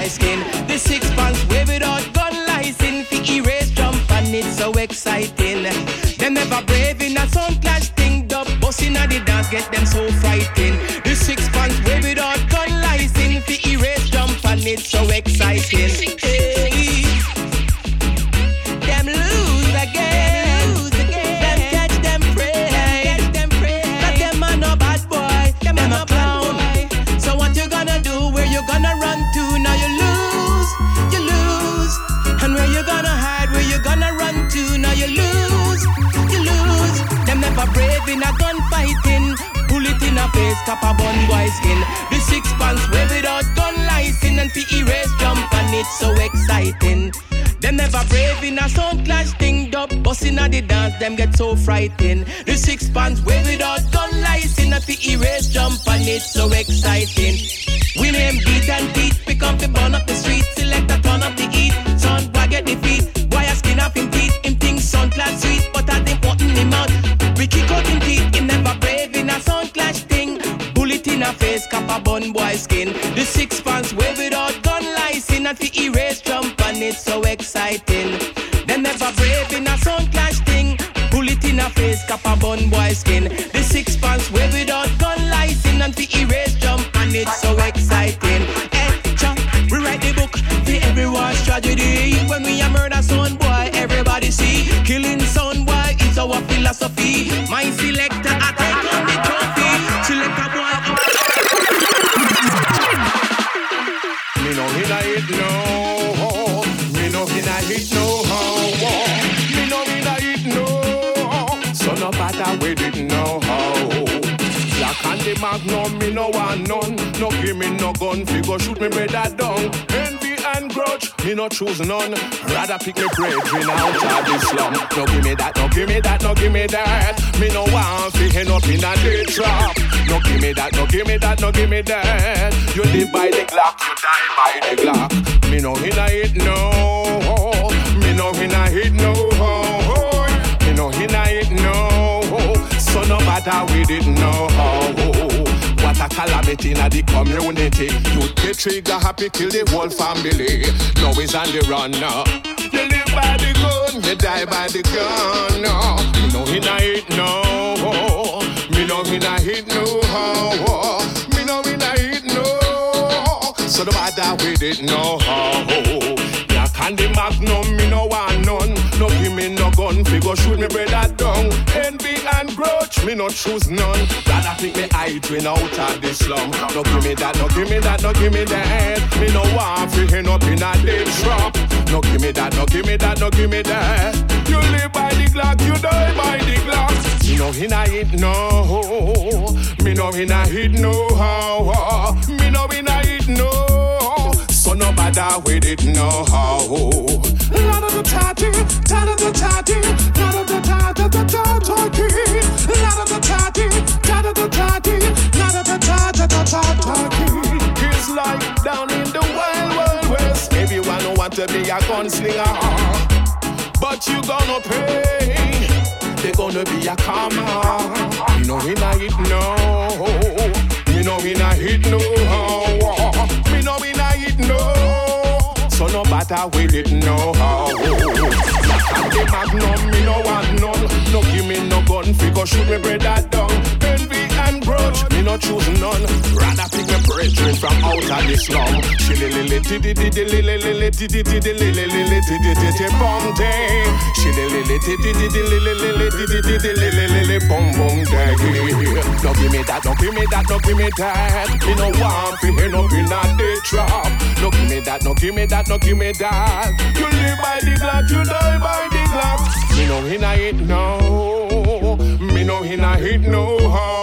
skin. The six pants way without gun license. Fi erase jump and it's so exciting. Them never brave in a sound clash thing. Dub busting at the dance get them so frightened. The six pants way without gun license. Fi erase jump and it's so exciting. Hey. Them lose again. Lose again. Them catch them prey. Catch them prey. But them are no bad boy. Them are no clown. So what you gonna do? Where you gonna run to? Now you lose. You lose. And where you gonna hide? Where you gonna run to? Now you lose. You lose. Them never brave in a gunfighting. Bullet in a face, cap a bun boy skin. The six pants way without gun license. And fi erase jump and it's so exciting. Them never brave in a sound clash thing. Dub busting at the dance, them get so frightened. The six pants way without gun license. And fi erase jump and it's so exciting. We name beat and teeth, pick up the bun up the street. Select a turn up the heat, sound boy get defeat. Wire skin up him teeth, him think sound clash sweet. But I think what in him out, we kick out him teeth. Him never brave in a sound clash thing. Bullet in a face, cap a bun boy skin. The six pants way without gun license. And fi erase jump and it's so exciting. Them never brave in a sound clash thing. Bullet in a face, cap a bun boy skin. The six pants way without gun license. And fi erase jump and it's so exciting. Hey, cha, we write the book for everyone's tragedy. When we a murder son boy, everybody see. Killing son boy is our philosophy. My selector, I take on the trophy. Selector boy. Me no hinna it no. Me no hinna it no. Me no hinna it no. So no matter we didn't know how. Black and the magnum, me no want none. No give me no gun, fi go shoot me brother down. Envy and grudge, me no choose none. Rather pick me brethren out of the slum. No give me that, no give me that, no give me that. Me no want fi end up in a dead trap. No give me that, no give me that, no give me that. You live by the Glock, you die by the Glock. Me no hinna it no. Me no hinna it no. Me no hinna it no. So no matter we didn't know how. What a calamity in the community. You get trigger happy, kill the whole family. Now he's on the run now. You live by the gun, you die by the gun. No, me no hinna it no. Me no hinna it no. Me no hinna it no. So no matter we didn't know how. And the magnum, me no want none. No give me no gun, fi go shoot me brother down. Envy and grudge, me no choose none. Rather pick me hydrain out of the slum. No give me that, no give me that, no give me that. Me no want fi end up in a dead trap. No give me that, no give me that, no give me that. You live by the Glock, you die by the Glock. Me no hinna it no. Me no hinna it no. Me no hinna it no. So no matter we didn't know how. Lot of the tatty, tat of the tatty, lot of the tatty, the tatty, lot of the tatty, tat of the tatty, lot of the tatty, the tatty. It's like down in the wild, wild west. Everyone want to be a gunslinger, but you gonna pay. They gonna be a karma. You know we not hit no. You know we not hit no. Me know we not hit no. So no matter we didn't know how. And the magnum, me no want none. No give me no gun, fi go shoot me brother down. Envy and grudge, me no choose none. Rather pick me brethren from out of the slum. Shillilili tiddy tiddy lili lili tiddy tiddy lili lili tiddy tiddy bum day. Shillilili tiddy tiddy lili lili tiddy tiddy lili lili bum bum day. No give me that, no give me that, no give me that. Me no want fi end up in a dead trap. No give me that, no give me that, no give me that. You live by the Glock, you die by the Glock. Me no hinna it no. Me no hinna it no.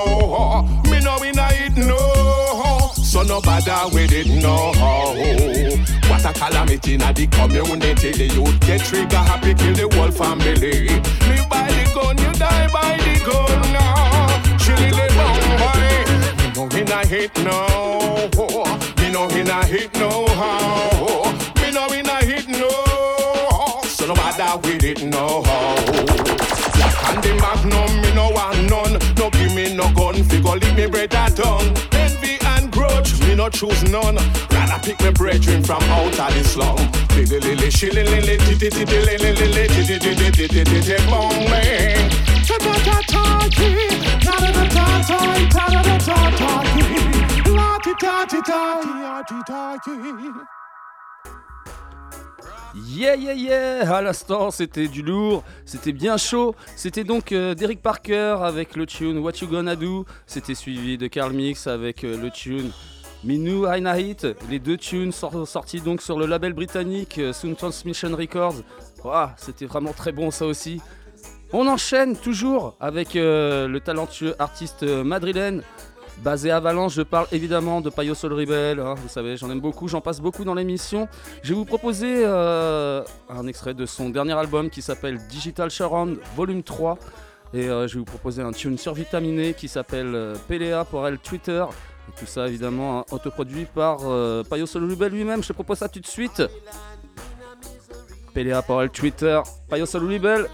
Me no hinna it no. So no bother we didn't know how. What a calamity in the community. The youth get trigger happy, kill the whole family. Live by the gun, you die by the gun now. Chilly the bum boy. Me no hinna it no. Me no hinna it no. Me no hinna it no. So no matter we didn't know how. And the magnum, me no want none. No give me no gun, fi go leave me brother down. Envy and grudge, me no choose none. Rather pick me brethren from out of the slum. Lily lily shilly lily titty titty lily lily titty titty titty titty bong bang. Ta ta ta ta ti, ta ta ta ta ta ta ta ta ta ti, la ti ta ti ta ti ta ti. Yeah yeah yeah. À l'instant c'était du lourd, c'était bien chaud. C'était donc euh, Derek Parker avec le tune What You Gonna Do. C'était suivi de Carl Mix avec euh, le tune Minu Aina Hit. Les deux tunes sort- sortis donc sur le label britannique euh, Sound Transmission Records. Wow, c'était vraiment très bon ça aussi. On enchaîne toujours avec euh, le talentueux artiste euh, madrilène basé à Valence. Je parle évidemment de Payo Soul Rebel, hein, vous savez, j'en aime beaucoup, j'en passe beaucoup dans l'émission. Je vais vous proposer euh, un extrait de son dernier album qui s'appelle Digital Surround Volume trois. Et euh, je vais vous proposer un tune survitaminé qui s'appelle euh, Pelea pour elle Twitter. Et tout ça évidemment hein, autoproduit par euh, Payo Soul Rebel lui-même. Je te propose ça tout de suite. Pelea pour elle Twitter, Payo Soul Rebel.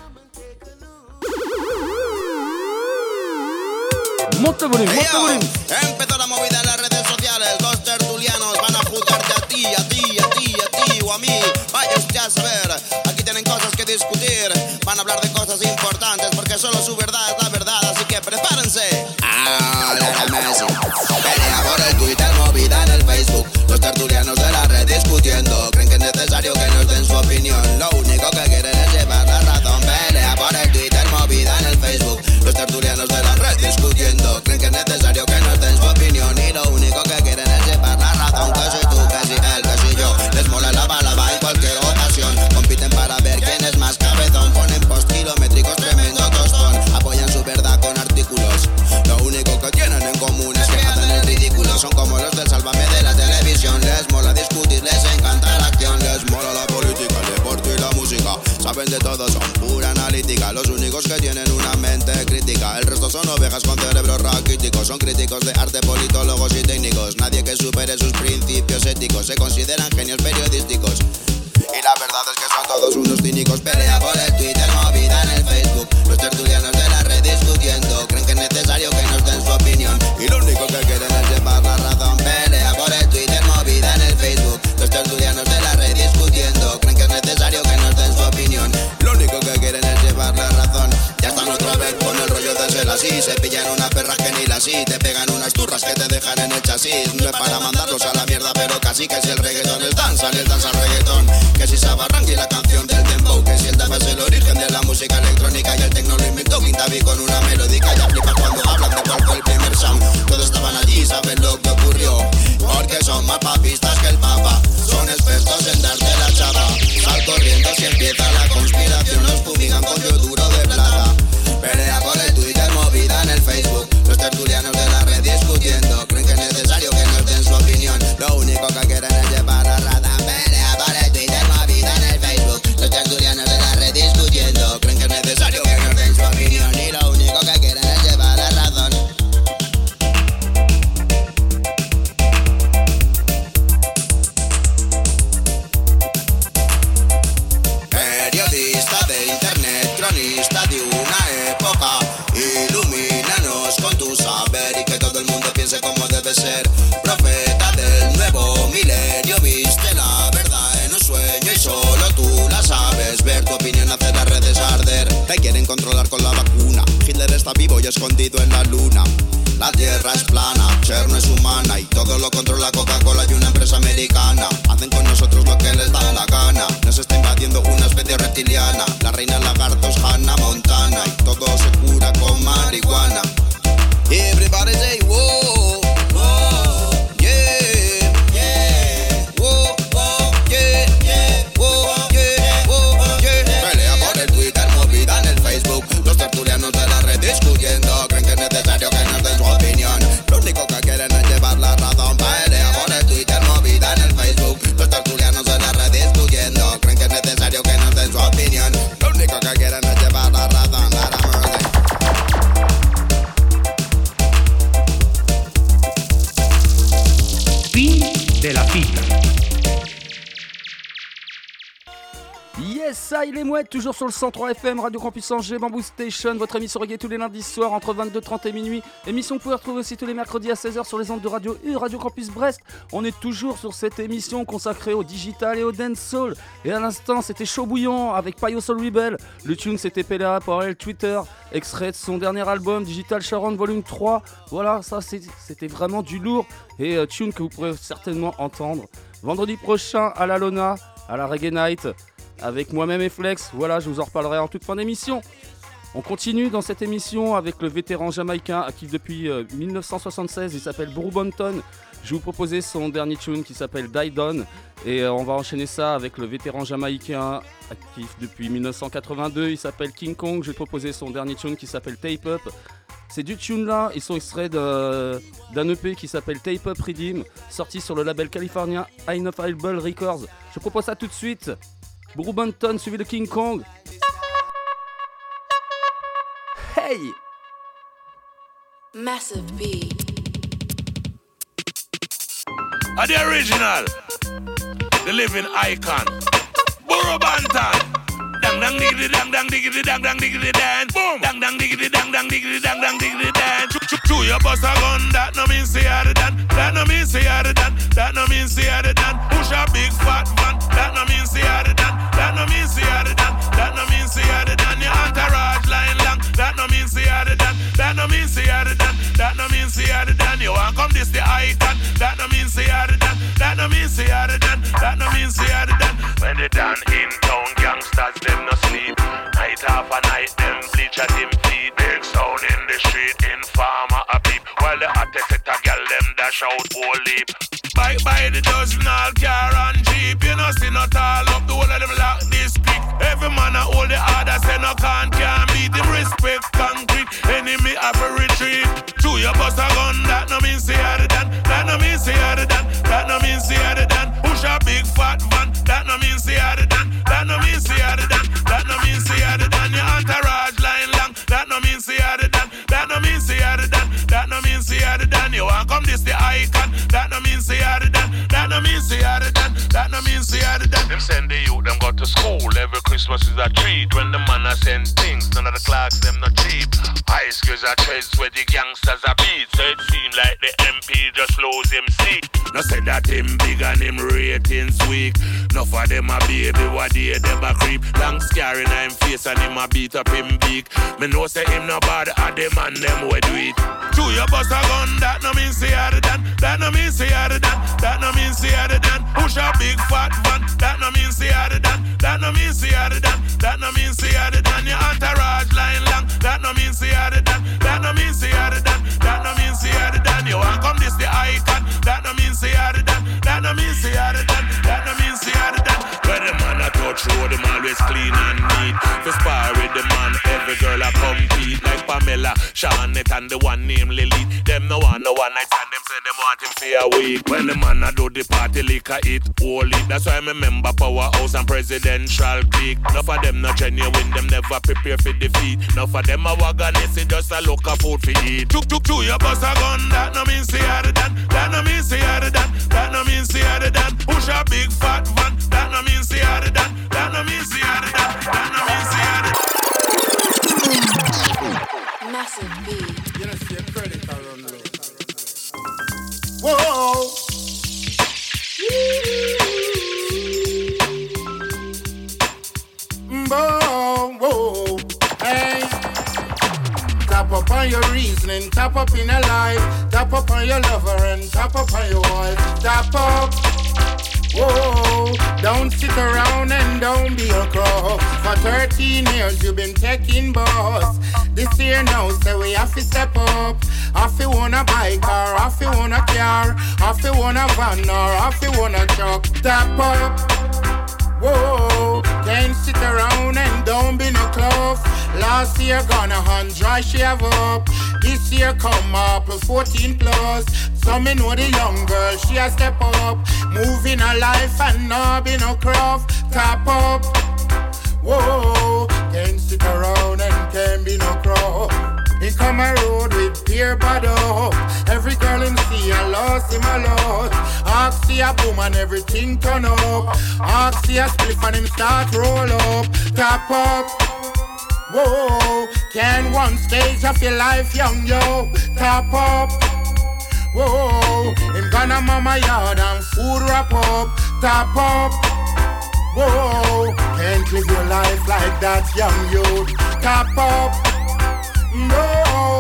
Monte el volumen, monte el volumen. Empezó la movida en las redes sociales. Los tertulianos van a juzgarte a ti, a ti, a ti, a ti o a mí. Vaya usted a saber. Aquí tienen cosas que discutir. Van a hablar de cosas importantes porque solo su verdad es la verdad. Así que prepárense. Ah, Lionel Messi. Pelea por el Twitter, movida en el Facebook. Los tertulianos de la red discutiendo. Creen que es necesario que nos den su opinión. Lo único que quieren es llevar la razón. Pelea por el Twitter, movida en el Facebook. Los tertulianos de la red discutiendo. Creen que es necesario que nos den su opinión. Y lo único que quieren es llevar la razón. Que si tú, que si él, que si yo. Les mola la balaba en cualquier ocasión. Compiten para ver quién es más cabezón. Ponen post kilométricos, tremendo tostón. Apoyan su verdad con artículos. Lo único que tienen en común es que hacen el ridículo. Son como los del Sálvame de la televisión. Les mola discutir, les encanta la acción. Les mola la política, el deporte y la música. Saben de todo, son pura analítica. Los únicos que tienen una mente crítica. El resto son ovejas con cerebros raquíticos. Son críticos de arte, politólogos y técnicos. Nadie que supere sus principios éticos. Se consideran genios periodísticos. Y la verdad es que son todos unos cínicos. Pelea por el Twitter, movida en el Facebook. Los tertulianos de la red discutiendo. Creen que es necesario que nos den su opinión. Y lo único que quieren es llevar la razón. Pelea por el Twitter, movida en el Facebook. Los tertulianos de la red discutiendo. Creen que es necesario que nos den su opinión. Lo único que quieren es llevar la razón. Ya están otra vez con el rollo de ser así. Se pillan unas perras que ni las sí. Te pegan unas turras que te dejan en el chasis. No es para mandarlos a la mierda, pero casi que si el reggaetón es danza, el danza al reggaetón. Que si Sabarranqui y la canción del dembow. Que si el tap es el origen de la música electrónica. Y el tecno lo inventó Quintavi con una melódica. Ya flipas cuando hablan de cuál fue el primer sound. Todos estaban allí, saben lo que ocurrió. Porque son más papistas que el papa. Son expertos en darte la chapa. Sal corriendo si empieza la conspiración. Nos fumigan con yoduro de plata. Pelea por el Twitter, movida en el Facebook. Los tertulianos de la red discutiendo. Creen que es necesario que nos den su opinión. Lo único que quieren es llevar la rata. Pelea por el Twitter, movida en el Facebook. Los tertulianos de la red discutiendo. Creen que es necesario que nos den su opinión. Y lo único que quieren es llevar la razón. Periodista de internet, cronista de una época. Ilumínanos con tu saber y que todo el mundo piense como debe ser. Profeta del nuevo milenio, viste la verdad en un sueño y solo tú la sabes ver. Tu opinión hace las redes arder. Te quieren controlar con la vacuna. Hitler está vivo y escondido en la luna. La tierra es plana, Cher no es humana y todo lo controla Coca-Cola y una empresa americana. Hacen con nosotros lo que les da la gana. Nos está invadiendo una especie reptiliana. La reina lagarto es Hannah Montana y todo se cura con marihuana. Everybody say whoa, whoa, yeah, yeah, whoa, whoa, yeah, yeah, whoa, yeah, whoa, yeah. Pelea por el Twitter, movida en el Facebook. Los tertulianos de la red discutiendo. Creen que es necesario que nos den su opinión. Lo único que quieren es llevar la razón. Pelea por el Twitter, movida en el Facebook. Los tertulianos Yes, ça, il est mouette, toujours sur le cent trois F M, Radio Campus Angers, Bamboo Station, votre émission reggae tous les lundis soirs entre vingt-deux trente et minuit. Émission que vous pouvez retrouver aussi tous les mercredis à seize heures sur les ondes de Radio U, Radio Campus Brest. On est toujours sur cette émission consacrée au digital et au dancehall. Et à l'instant, c'était Chaud Bouillant avec Payo Soul Rebel. Le tune, c'était P L A par elle Twitter, extrait de son dernier album, Digital Sharon Volume trois. Voilà, ça, c'était vraiment du lourd. Et euh, tune que vous pourrez certainement entendre vendredi prochain à la Lona, à la Reggae Night. Avec moi-même et Flex, voilà, je vous en reparlerai en toute fin d'émission. On continue dans cette émission avec le vétéran jamaïcain actif depuis euh, dix-neuf cent soixante-seize, il s'appelle Bru Bonton. Je vais vous proposer son dernier tune qui s'appelle Die Down. Et euh, on va enchaîner ça avec le vétéran jamaïcain actif depuis dix-neuf cent quatre-vingt-deux, il s'appelle King Kong. Je vais proposer son dernier tune qui s'appelle Tape Up. Ces deux tunes-là, ils sont extraits de, d'un E P qui s'appelle Tape Up Redeem, sorti sur le label californien Inoffable Records. Je propose ça tout de suite. Bru Bonton suivi de King Kong. Hey! Massive B. Are the original, the living icon, Bru Bonton. Dang dang diggity dang dang diggity dang dang diggity dan. Boom. Dang dang diggity dang dang diggity dang dang diggity dan. Chew your bust a gun, that no mean say you're the done. That no mean say you're the done. That no mean say you're the done. Push a big fat van. That no mean say you're the done. That no mean say you're the done. That no mean say you're the done. Your entourage line long. That no mean say you're the done. That no mean say you're the done. That no mean say you're the done. You want come this the icon. That no mean say you're the done. That no mean say you're the done. That no mean say you're the done. When they done in town, gangsters them no sleep. Night after night, them bleach at them feet. Big sound in the street, informer a beep. While the hottest set a girl, them dash out whole leap. Bike by the dozen, all car and jeep. You know, see not all up, the whole of them lock this quick. Every man a hold the order, say no can't, can't beat them respect concrete. Enemy have a retreat. Chew your bust a gun, that no mean say you're the done. That no mean say you're the done. That no mean say you're the done. Push a big fat van, that no mean say you're the done. That no mean say you're the done. That no mean say you're the done. Your entourage line long, that no mean say you're the done. That no mean say you're the done. That no mean say you're the done. You want come this the icon. That no mean say you're the done. That no mean say you're the done. That no mean say you're the done. Them send the youth, them go to school. Every Christmas is a treat. When the man a send things, none of the clocks them not cheap. High schools are treads where the gangsters are beat. So it seem like the M P just lose him seat. No say that him big and him ratings weak. No for them a baby, what day them a creep. Long scar in him face and him a beat up him beak. Me know say him no bad at them and them we do it. Chew your bust a gun, that no mean say you're the done. That no mean say you're the done. That no mean say you're the done. Push a big fat van, that no mean say you're the done. That no mean say you're the done. That no mean say you're the done. Your entourage line long, that no mean say you're the done. That no mean say you're the done. That no mean say you're the done. You want come this the icon, that no mean say you're the done. That no mean say you're the done. That no mean say you're the done. When the man a touch road, them always clean and neat. To spar with the man, every girl a compete. Like Pamela, Shawnette and the one named Lily. Them no one, no one night stand, them say them want him for a week. When the man a do the party, liquor it, holy. That's why I remember Powerhouse and Presidential Clique. Enough of them not genuine, them never prepare for defeat. Enough of them a wagonist, it just a look of food for eat. Chuk chuk chuk, you bust a gun, that no mean say you're the done. That no mean say you're the done. That no mean say you're the done. Push a big fat van, that no mean say you're the done. That no mean say you're the done. That no mean say you're the done. Massive B. You know, see a credit around low. Whoa. Whoa, whoa, hey. Tap up on your reasoning, tap up in a life, tap up on your lover and tap up on your wife. Tap up. Whoa, don't sit around and don't be a crow. For thirteen years you've been taking boss. This year now say we have to step up. Have to want a bike or have to want a car, have to want a van or have to want a truck. Step up. Whoa, can't sit around and don't be no close. Last year gonna hundred shave up. This year come up with fourteen plus. So me know the young girl, she a step up. Moving her life and not be no craft. Tap up. Whoa, can't sit around and can't be no crow. He come a road with beer bottle. Every girl him see I lost him a lot. Ask see a boom and everything turn up. Ask see a spliff and him start roll up. Top up. Whoa, can one stage of your life young yo. Top up. Whoa, him gonna mama yard and food wrap up. Top up. Whoa, can't live your life like that young youth. Top up. No.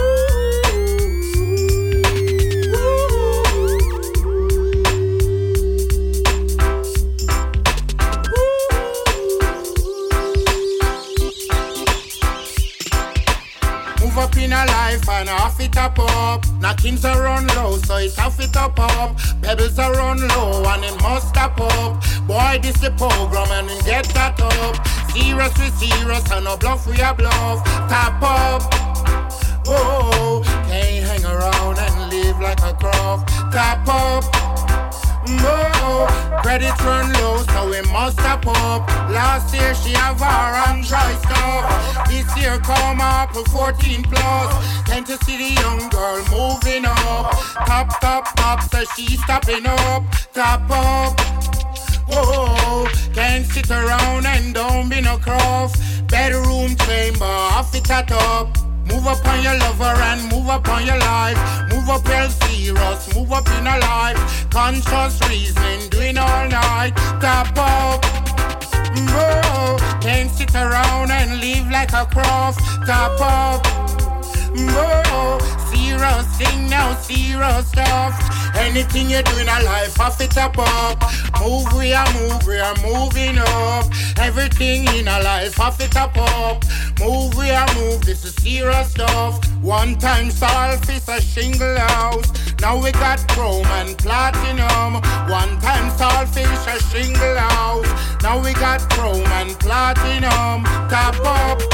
Move up in a life and off it up up. Knockings are run low, so it off it up up. Pebbles are run low and it must stop up. Boy, this the program and it get that up. Serious we serious and no bluff we a bluff. Tap up. Whoa, can't hang around and live like a craft. Tap up. No, credit run low, so we must step up. Last year she have her and dry stuff. This year come up with fourteen plus. Can't you see the young girl moving up? Top, top, top, so she stopping up. Top up. Whoa, can't sit around and don't be no cross. Bedroom chamber, off it at up. Move up on your lover and move up on your life. Move up real serious, move up in a life. Conscious reasoning, doing all night. Tap up. Whoa, can't sit around and live like a cross. Tap up. Whoa, serious thing now, serious stuff. Anything you do in a life, off it up up. Move, we are move, we are moving up. Everything in a life, off it up up. Move, we are move, this is serious stuff. One time Solfice a shingle house. Now we got chrome and platinum. One time Solfish a shingle house. Now we got chrome and platinum. Tap up.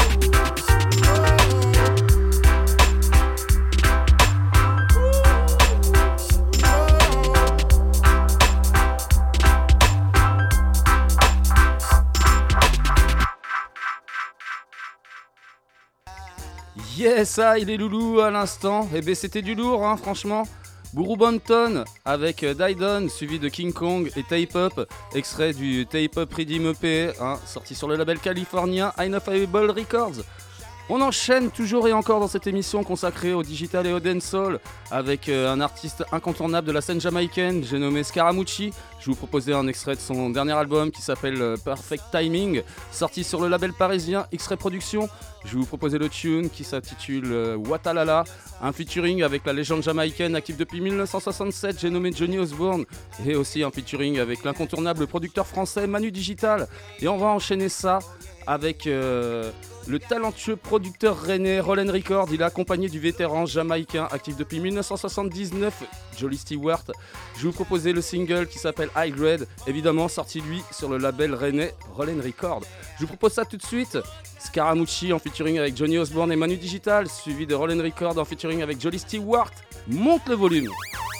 Yes, ça, il est loulou à l'instant. Et ben c'était du lourd, hein, franchement. Buru Banton avec Dydon, suivi de King Kong et Tape Up, extrait du Tape Up Redeem E P, hein, sorti sur le label californien Inoffable Records. On enchaîne toujours et encore dans cette émission consacrée au digital et au dancehall avec euh, un artiste incontournable de la scène jamaïcaine, j'ai nommé Scaramucci. Je vous proposais un extrait de son dernier album qui s'appelle euh, Perfect Timing, sorti sur le label parisien X-Ray Productions. Je vais vous proposer le tune qui s'intitule euh, Watalala, un featuring avec la légende jamaïcaine active depuis mille neuf cent soixante-sept, j'ai nommé Johnny Osbourne, et aussi un featuring avec l'incontournable producteur français Manu Digital. Et on va enchaîner ça avec euh, le talentueux producteur rennais Roland Records. Il est accompagné du vétéran jamaïcain actif depuis mille neuf cent soixante-dix-neuf, Jolly Stewart. Je vais vous proposer le single qui s'appelle High Grade, évidemment sorti lui sur le label rennais Roland Records. Je vous propose ça tout de suite. Scaramucci en featuring avec Johnny Osbourne et Manu Digital, suivi de Roland Records en featuring avec Jolly Stewart. Monte le volume.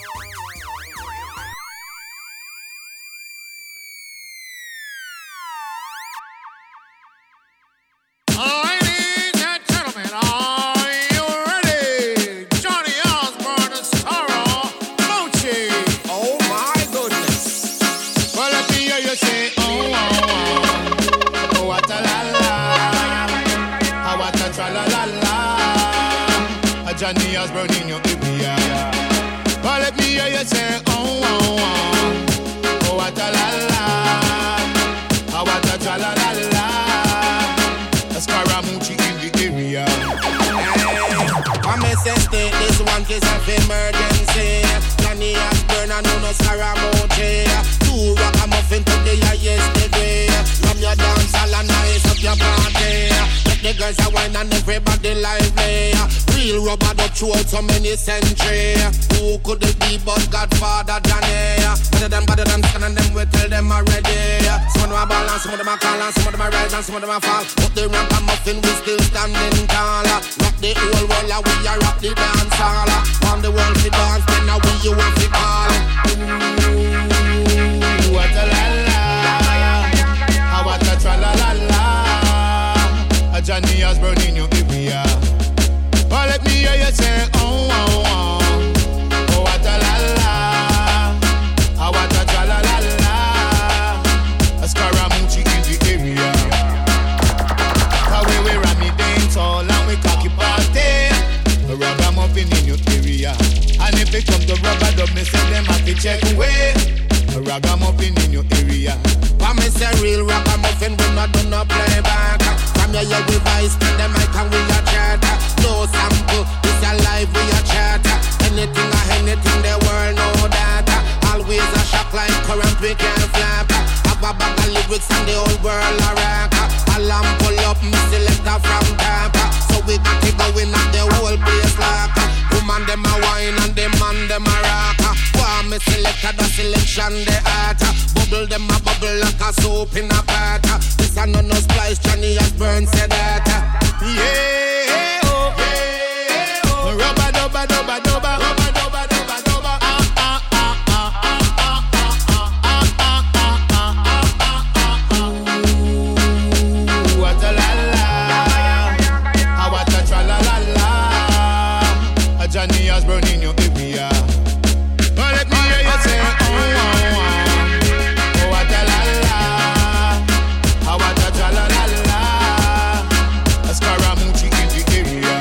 Johnny Osbourne in your area. But let me hear you say, oh, oh, oh, oh, what a la la, oh, what a tra la la la, a Scaramucci in the area. Hey, I'm a state, this one case of emergency. Johnny Osbourne and no Scaramucci. Two rock a muffin to the highest degree. From your dance hall and nice up your party. The girls are wine and everybody lively. Real rubber duck throughout so many centuries. Who could it be but Godfather Johnny? Better than better than scan and them we tell them already. Some of them are balance, some of them are call and some of them are rise and some of them are fall. But the ramp and muffin we still standing tall. Rock the whole world and we are rock the dance hall. On the world we dance, then now we you want to call. Ooh, what a la la, what a tra la la la. Johnny Osbourne in your area. Well, I do not play back. From your year we vice, spend the mic and we a chat. No sample, this a live we a chat. Anything or anything the world know that. Always a shock like current we can't flap. Have a bag of lyrics and the whole world a rock. Alarm pull up, me selector from top. So we got it going at the whole place like. Woman them a wine and the man them a rock. Wow, me selector the selection the art. Bubble them a bubble like a soap in a pot. This a no no splice, Johnny Osbourne said that. Yeah, oh, yeah, oh. Rubber dubber dubber dubber. Rubber dubber dubber dubber. Ah ah ah ah ah ah ah ah ah. Ooh, what a la la. Ah, what a tra la la la. A Johnny Osbourne in your area. Oh, let me hear you say, oh, oh, oh. Oh, what a la la. Ah, what a tra la la la. A Scaramucci in the area.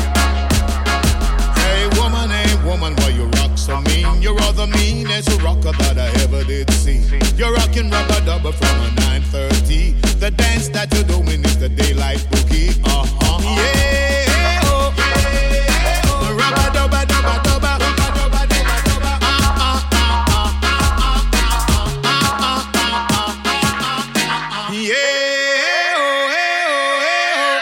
Hey woman, hey woman, why you rock so mean? You're all the meanest rocker that I ever did see. You're rocking rubber dubber from a nine thirty. The dance that you're doing is the daylight boogie. Uh-huh. Yeah, oh, yeah, oh. Rubber dubber dubber dubber. Rubber dubber dubber dubber. Ah, ah, ah, ah, ah, ah, ah, ah, ah, ah. Yeah, oh, hey,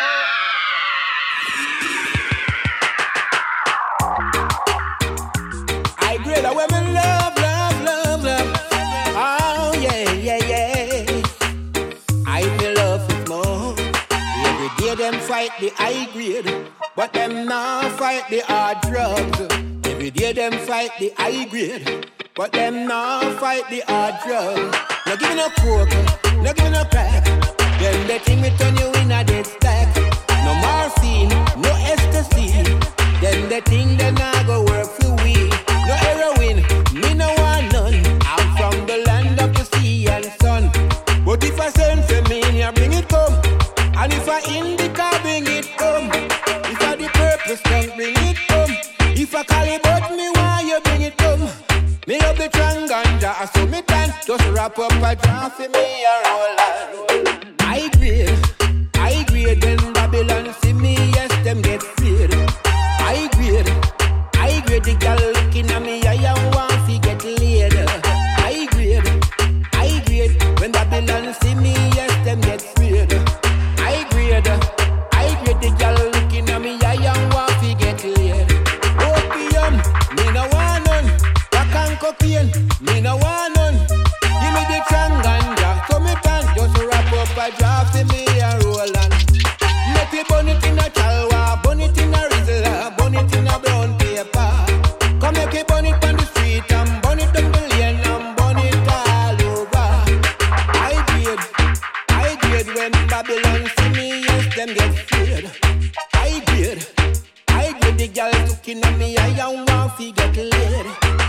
oh, hey, oh. I grade a women love, love, love, love. Oh, yeah, yeah, yeah. I feel love it more. Every day them fight the high grade, but them now fight the hard drugs. Every day them fight the high grade, but them now fight the hard drugs. No give me no coke, no give me no crack. Then they think me turn you in a dead stack. No morphine, no ecstasy. Then they think they not go work for we. No heroin, me no want none. I'm from the land of the sea and sun. But if I send for me, I bring it come. And if I indica, bring it come. If I the purpose, then bring it come. If I call it but me, why you bring it come? Me up the tranganja, I saw me tan. Just wrap up a draft for me and roll on. I grade, I grade when Babylon see me, yes, them get feared. I grade, I grade the girl looking at me, I am want to get laid. I grade, I grade when Babylon see me, yes, them get feared. I grade, I grade the girl looking at me, I am want to get laid. Opium, me no want none. Rock and cocaine, me no want none. Give me the tranganja, so me can just wrap up a draft in me and roll on. Make me burn it in a chalwa, burn it in a rizzler, burn it in a brown paper. Come make me burn it on the street and burn it down the lane and burn it all over. I grade, I grade when Babylon see me, yes, them get scared. I grade, I grade the girl looking at me, I am want to get laid.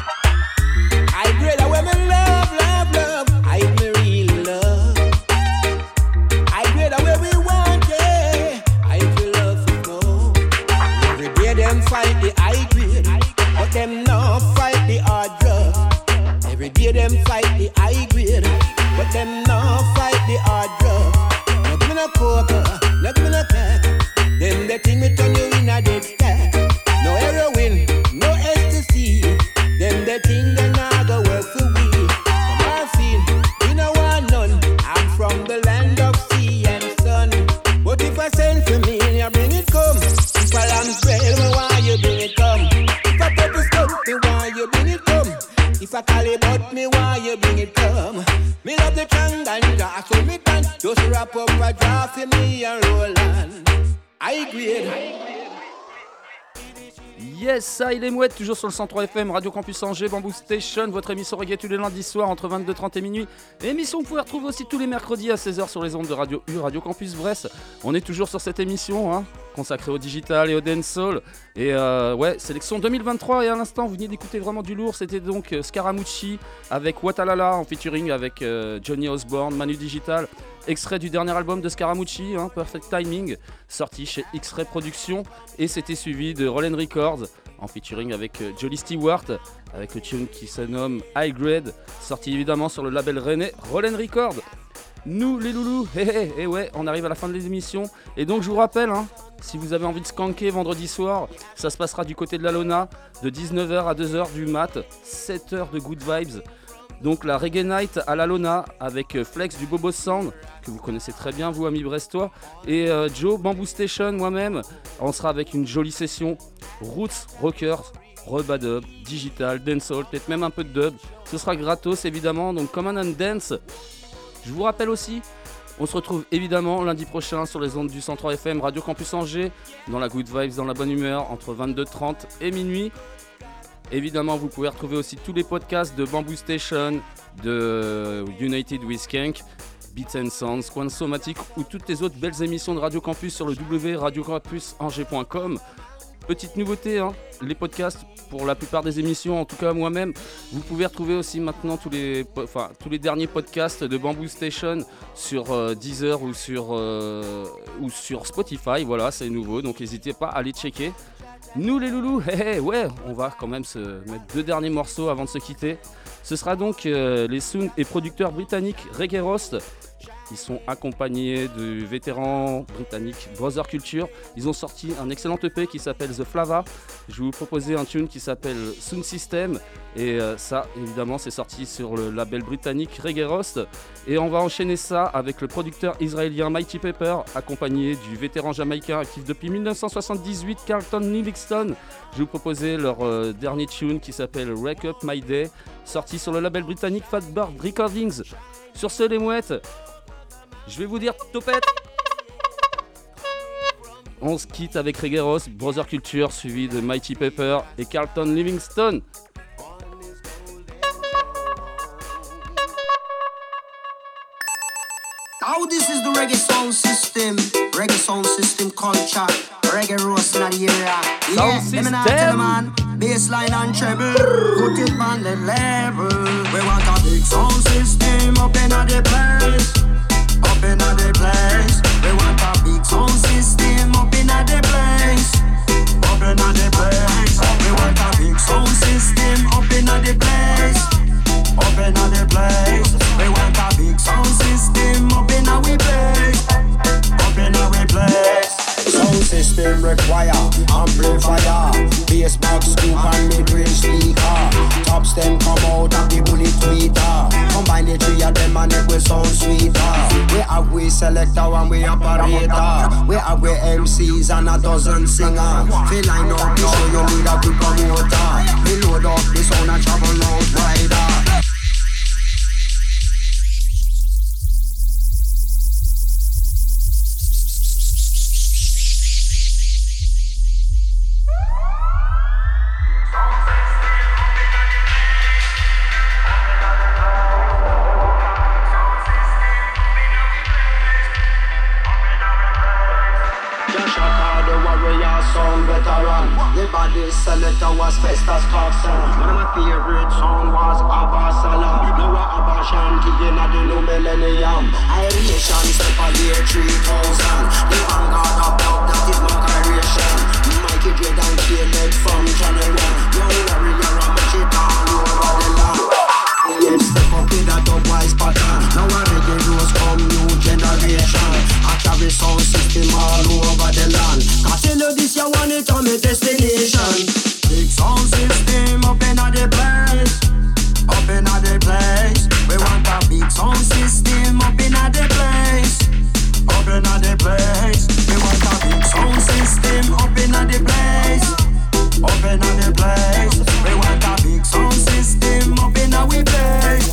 I grade a women love, love, love. I me real love. I grade a way we want, yeah. I feel love to go. Every day them fight the high grade, but them now fight the hard drugs. Every day them fight the high grade, but them now fight the hard drugs. No give me no coke, no give me no crack. Them they think me turn you in a dead stack. No heroin, no ecstasy. Them they think they not go work for we. No morphine, we no want none. I'm from the land of sea and sun. But if I send for me, you bring it come. If I am well, me why you bring it come? If I purpose come, me why you bring it come? If I call it but me why you bring it come? Me love the tranganja, so me can just wrap up a draft for me and roll on. I grade. Yes, ça, il est mouette, toujours sur le cent trois F M, Radio Campus Angers, Bamboo Station, votre émission reggae tous les lundis soirs entre vingt-deux trente et minuit. Émission que vous pouvez retrouver aussi tous les mercredis à seize heures sur les ondes de Radio U, Radio Campus Brest. On est toujours sur cette émission, hein, consacrée au digital et au dancehall. Et euh, ouais, sélection deux mille vingt-trois, et à l'instant, vous venez d'écouter vraiment du lourd. C'était donc euh, Scaramucci avec Watalala en featuring avec euh, Johnny Osbourne, Manu Digital. Extrait du dernier album de Scaramucci, hein, Perfect Timing, sorti chez X-Ray Productions, et c'était suivi de Roland Records en featuring avec euh, Jolly Stewart, avec le tune qui se nomme High Grade, sorti évidemment sur le label rennais Roland Records. Nous les loulous, hé hé, et ouais, on arrive à la fin de l'émission. Et donc je vous rappelle, hein, si vous avez envie de skanker vendredi soir, ça se passera du côté de la Lona, de dix-neuf heures à deux heures du mat, sept heures de good vibes. Donc la Reggae Night à la Lona avec Flex du Bobo Sound, que vous connaissez très bien vous amis brestois, et euh, Joe, Bamboo Station, moi-même. On sera avec une jolie session Roots, Rockers, Rebadub, Digital, Dancehall, peut-être même un peu de dub. Ce sera gratos évidemment, donc Come on and Dance. Je vous rappelle aussi, on se retrouve évidemment lundi prochain sur les ondes du cent trois F M Radio Campus Angers, dans la good vibes, dans la bonne humeur, entre vingt-deux heures trente et minuit. Évidemment, vous pouvez retrouver aussi tous les podcasts de Bamboo Station, de United with Skank, Beats and Sounds, Quansomatic ou toutes les autres belles émissions de Radio Campus sur le w w w point radio campus angers point com. Petite nouveauté, hein, les podcasts pour la plupart des émissions, en tout cas moi-même, vous pouvez retrouver aussi maintenant tous les, enfin, tous les derniers podcasts de Bamboo Station sur euh, Deezer ou sur, euh, ou sur Spotify. Voilà, c'est nouveau, donc n'hésitez pas à aller checker. Nous les loulous, hey, hey, ouais, on va quand même se mettre deux derniers morceaux avant de se quitter. Ce sera donc euh, les sound et producteurs britanniques Reggae Roast. Ils sont accompagnés du vétéran britannique Brother Culture. Ils ont sorti un excellent E P qui s'appelle The Flava. Je vais vous proposer un tune qui s'appelle Sound System. Et euh, ça, évidemment, c'est sorti sur le label britannique Reggae Roast. Et on va enchaîner ça avec le producteur israélien Mighty Pepper, accompagné du vétéran jamaïcain actif depuis dix-neuf cent soixante-dix-huit, Carlton Livingston. Je vais vous proposer leur euh, dernier tune qui s'appelle Wake Up My Day, sorti sur le label britannique Fatbird Recordings. Sur ce, les mouettes, je vais vous dire topette. On se quitte avec Reggae Roast, Brother Culture, suivi de Mighty Pepper et Carlton Livingston. Now this is the reggae sound system, reggae sound system culture, reggae roast in the area. Yeah, let me not tell man, bassline and treble, put it on the level. We want a big sound system up in the place, up in the place. We want a big sound system up in the place, up in the place. We want a big sound system up in the place, up in the place. We want a big sound system up in our place, up in our place. Sound system require amplifier, bass box, scoop and mid-range speaker. Top stem come out of the bullet tweeter. Combine the three of them and it will sound sweeter. We have we selector and we operator. We have we M Cs and a dozen singers. Feel line up the show, you need a good promoter. We load up the sound and travel round wider. Selector was Festus Coxon. One of my favorite songs was Abasala. Now a Abashanti in the new millennium. Iration step a year three thousand. The vanguard of dub, that is my creation. Mikey J and Caleb from Channel one. Young warrior and match it all over the land. Yes, step up with a dub-wise pattern. Now a reggae rose come new generation. I carry sound system all over the land. Cause tell you this, you want it on my destination. Big sound system up in the place, up in the place. We want a big sound system up in the place, up in the place. We want a big sound system up in the place, up in the place. We want a big sound system up in our place,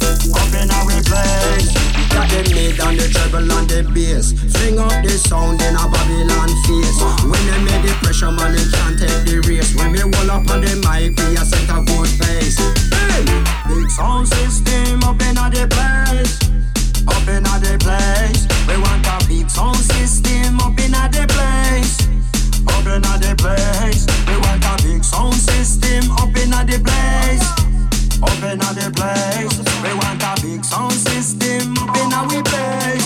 up in our place. Got the mid and the treble and the bass. Fling up the sound in a Babylon face. When they make the pressure, man, they can't take the race. When we roll up on the mic, we a set a good pace. Hey! Big sound system up in the place, up in the place. We want a big sound system up in the place, up in the place. We want a big sound system up in the place, up in the place. We want a big sound system up in our place,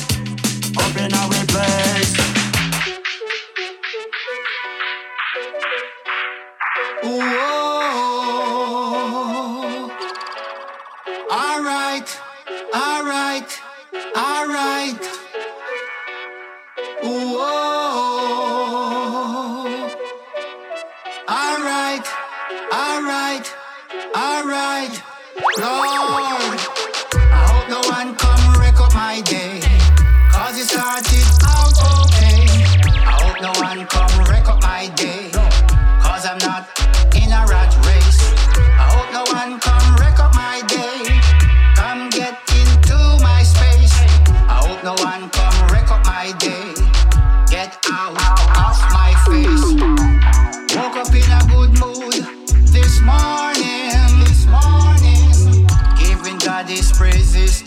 up in our place. Whoa. All right, all right, all right.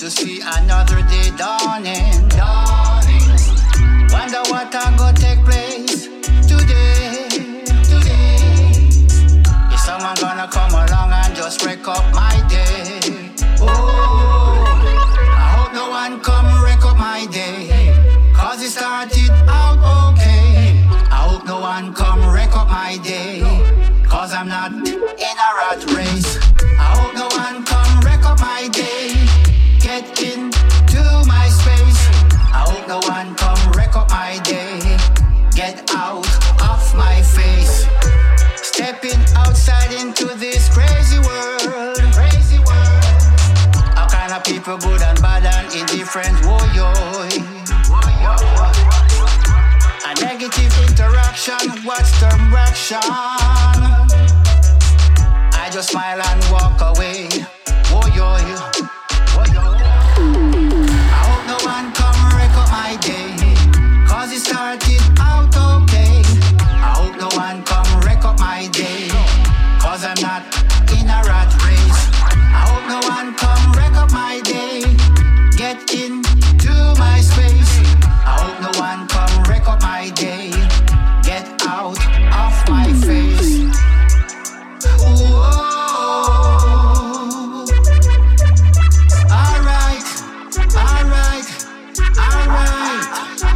to see another day dawning. Dawning. Wonder what I go take place today. Today. Is someone gonna come along and just wreck up my day? Oh, I hope no one come wreck up my day. Cause it started out okay. I hope no one come wreck up my day. Cause I'm not in a rat race. I hope no one come wreck up my day. Get into my space. I hope no one come wreck up my day. Get out of my face. Stepping outside into this crazy world. Crazy world. All kind of people good and bad and indifferent. Whoa, yo. A negative interaction, what's the reaction? I just smile and walk away. Whoa, yo, whoa, yo. I hope no one come wreck up my day. Cause it started out okay. I hope no one come wreck up my day. Cause I'm not in a rat race. I hope no one come wreck up my day. Get into my space. I hope no one come wreck up my day. Get out of my face. Whoa. Alright, alright, alright.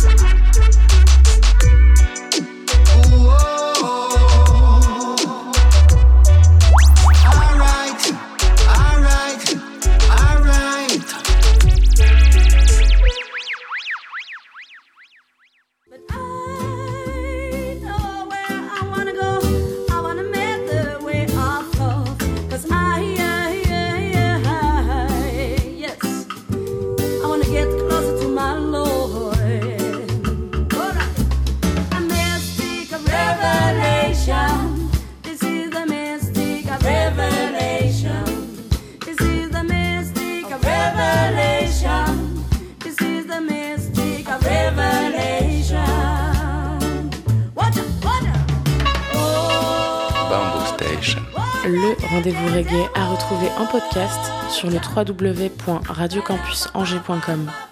Whoa. Alright, alright, alright. Le rendez-vous reggae à retrouver en podcast sur le w w w point radio campus angers point com.